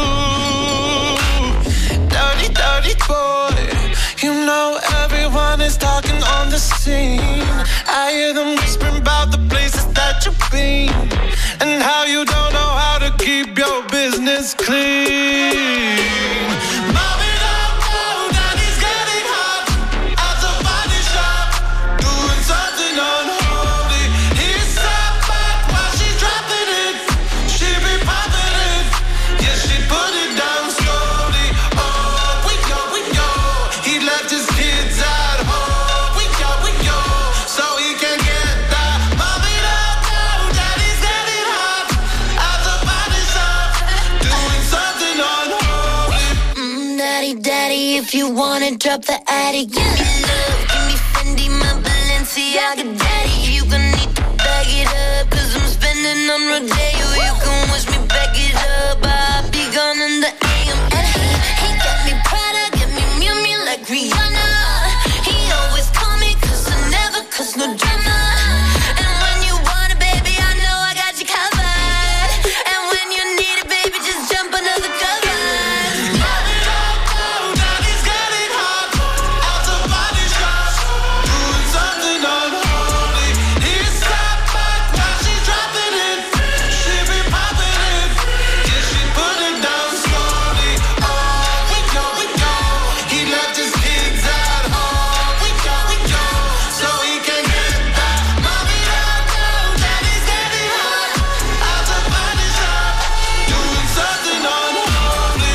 S21: Dirty, dirty boy. You know everyone is talking on the scene. I hear them whispering about the places that you've been and how you don't know how to keep your business clean. Mommy, don't go, daddy's getting hot at the body shop, doing something unholy. He's sat back while she's dropping it. She be popping it, yeah, she put it down slowly. Oh, we go, we go. He left his kids at home. We go, we go, so he can get that. Mommy, don't go, daddy's getting hot at the body shop, doing something unholy.
S7: Mm, daddy, daddy, if you wanna drop the attic, give me love, give me Fendi, my Balenciaga, daddy. You gonna need to bag it up, cause I'm spending on Rodeo. You can wish me back it up, I'll be gone in the A M. And he, he got me Prada, got me Miu Miu like Rihanna. He always call me cause I never cause no drama. And when you want it, baby, I know I got you covered. And when you need it, baby, just jump under the covers.
S21: Mommy, don't go, daddy's getting hot at the body shop, doing something unholy. He's sat back while she's dropping it. She be popping it, yeah, she put it down slowly. Oh, we go, we go. He left his kids at home. We go, we go, so he can get that. Mommy, don't go, daddy's getting hot at the body shop, doing something unholy.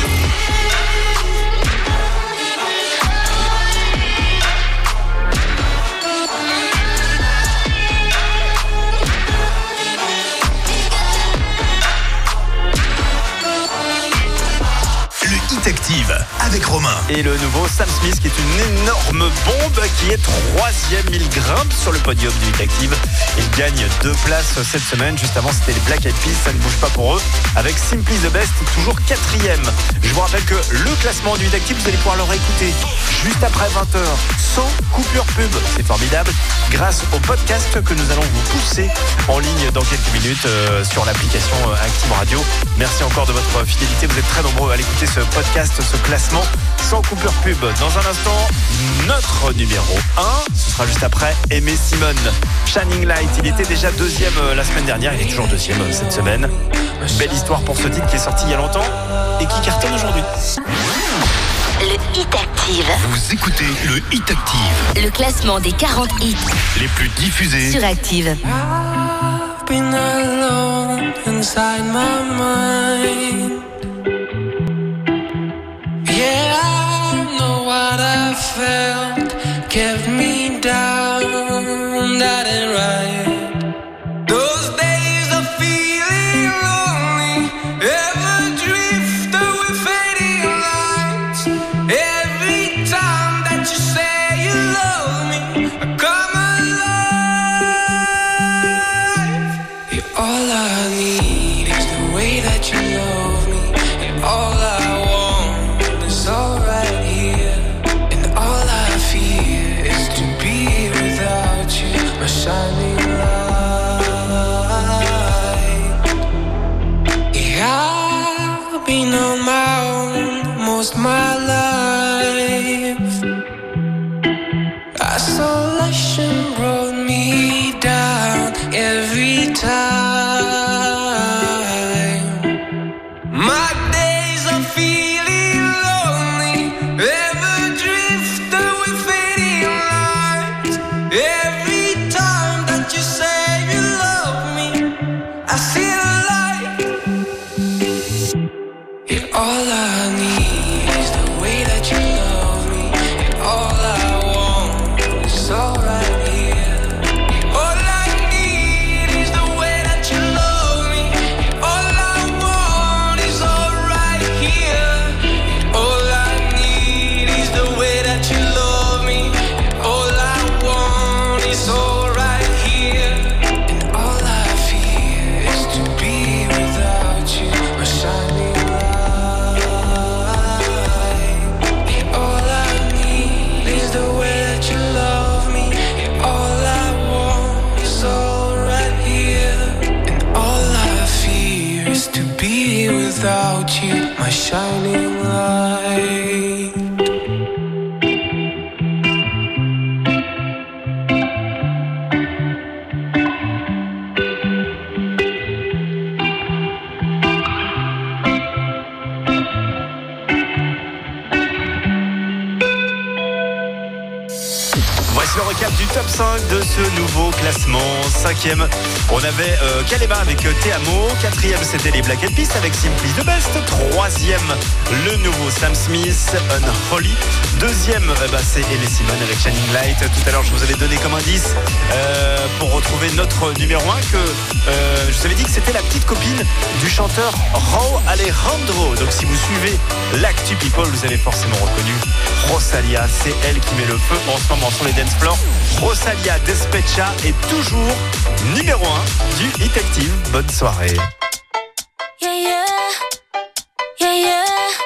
S5: Le Hit Active avec Romain.
S10: Et le nouveau Sam Smith qui est une énorme bombe qui est troisième. Il grimpe sur le podium du Hit Active. Il gagne deux places cette semaine. Juste avant, c'était les Black Eyed Peas. Ça ne bouge pas pour eux. Avec Simply the Best, toujours quatrième. Je vous rappelle que le classement du Hit Active, vous allez pouvoir le réécouter juste après vingt heures, sans coupure pub. C'est formidable. Grâce au podcast que nous allons vous pousser en ligne dans quelques minutes euh, sur l'application euh, Active Radio. Merci encore de votre fidélité. Vous êtes très nombreux à l'écouter ce podcast, ce classement sans coupure pub. Dans un instant, notre numéro un, ce sera juste après Aimé Simone, Shining Light. Il était déjà deuxième euh, la semaine dernière, il est toujours deuxième euh, cette semaine. Belle histoire pour ce titre qui est sorti il y a longtemps et qui cartonne aujourd'hui.
S15: Le Hit Active.
S5: Vous écoutez le Hit Active.
S15: Le classement des quarante hits
S5: Les plus diffusés
S15: sur Active.
S12: I've been alone inside my mind. Yeah, I know what I felt kept me down, that ain't right. Those days of feeling lonely, ever drift away fading lights. Every time that you say you love me, I come alive. Yeah, all I need is the way that you love me, and all I want is all right here, and all I fear is to be without you, my shining light. Yeah, I've been on my own most my life. Isolation brought me down every time. My days of feeling lonely, ever drift away fading lights. Every time that you say you love me, I see the light. Yeah, all I need is the way that you love me, and all I want is all right here. All I need is the way that you love me, and all I want is all right here. All I need is the way that you love me, and all I want is all right here. And all I fear is to
S21: shining light.
S10: Voici le recap du top cinq de ce nouveau classement. Cinquième, on avait euh, Kalema avec euh, Te Amo. Quatrième, c'était les Black Eyed Peas avec Simply the Best. Troisième, le nouveau Sam Smith, Unholy. Deuxième, euh, bah, c'est Elie Simon avec Shining Light. Tout à l'heure, je vous avais donné comme indice euh, pour retrouver notre numéro un que euh, je vous avais dit que c'était la petite copine du chanteur Rauw Alejandro. Donc si vous suivez l'actu People, vous avez forcément reconnu Rosalia. C'est elle qui met le feu en ce moment sur les dance floors. Rosalia Despecha est toujours numéro un du Hit Active. Bonne soirée.
S7: Yeah, yeah, yeah, yeah.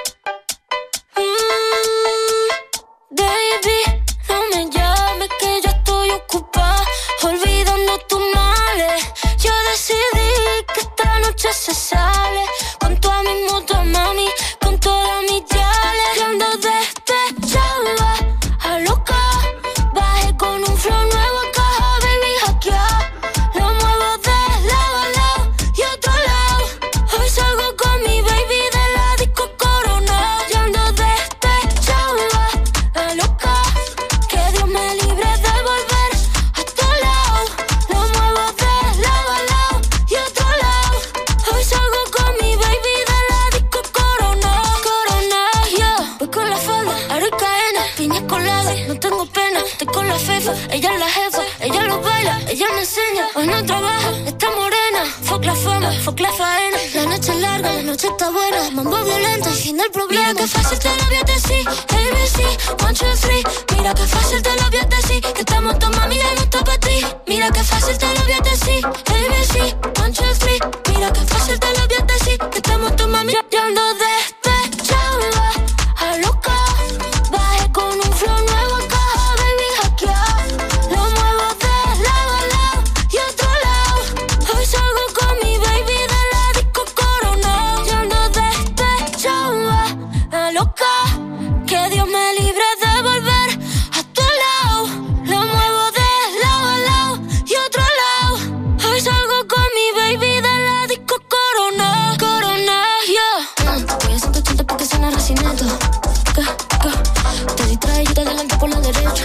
S7: Mm, baby, no me llames que yo estoy ocupada, olvidando tus males. Yo decidí que esta noche se sale con toda mi moto, mami, con todas mis yales. Yo ando despechada, a loca, bajé con un flow nuevo a caja, baby, hackeado. Lo muevo de lado a lado y otro lado. Hoy salgo con mi baby de la disco Corona. Yo ando despechada, a loca, que Dios me libre de volver a tu lado. Lo muevo de lado a lado y otro lado. Hoy salgo con mi baby de la disco Corona. Corona, yeah. Voy con la falda, aro y cadena, piña colada, no tengo pena. Estoy con la fefa, ella es la jefa, ella lo baila, ella me enseña. Hoy no trabaja, está morena. Fuck la fama, fuck la faena. La noche es larga, la noche está buena. Mambo violento, el fin del problema. Mira que fácil te lo voy a decir, A B C, one, two, three. Mira que fácil te lo voy a decir, que estamos todos mami, ya no está para ti. Mira que fácil te lo voy a decir, A B C, one, two, three. Mira que fácil te lo voy a decir, que estamos todos mami, yo ando despechada, a loca, bajé con un flow nuevo a caja, baby, hackeado. Lo muevo de lado a lado y otro lado. Hoy salgo con mi baby de la disco Corona. Yo ando despechada, a loca, que Dios me libre de volver a tu lado. Lo muevo de lado a lado y otro lado. Hoy salgo con mi baby de la disco Corona. Corona, yeah. Mm, voy a ciento ochenta porque suena recinito. Que, que, te distrae y te adelanto por la derecha.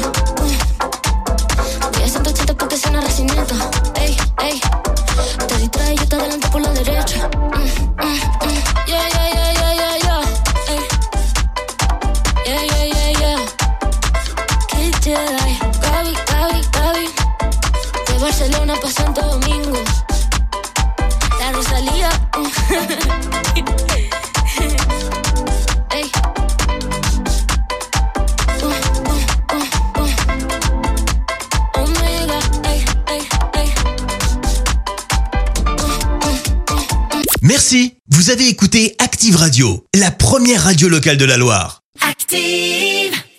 S7: Mm, voy a ciento ochenta porque suena recinito. Ey, ey, te distrae y te adelanto por la derecha. Mm, mm, mm. Yeah, yeah, yeah, yeah, yeah, yeah. Ey. Yeah, yeah, yeah, yeah. Kid Jedi, Gaby, Gaby, Gaby. De Barcelona pa' Santo Domingo. La Rosalía. Ey. Uh, uh, uh, uh. Omega, ey, ey, ey.
S5: Merci, vous avez écouté Active Radio, la première radio locale de la Loire.
S4: Active.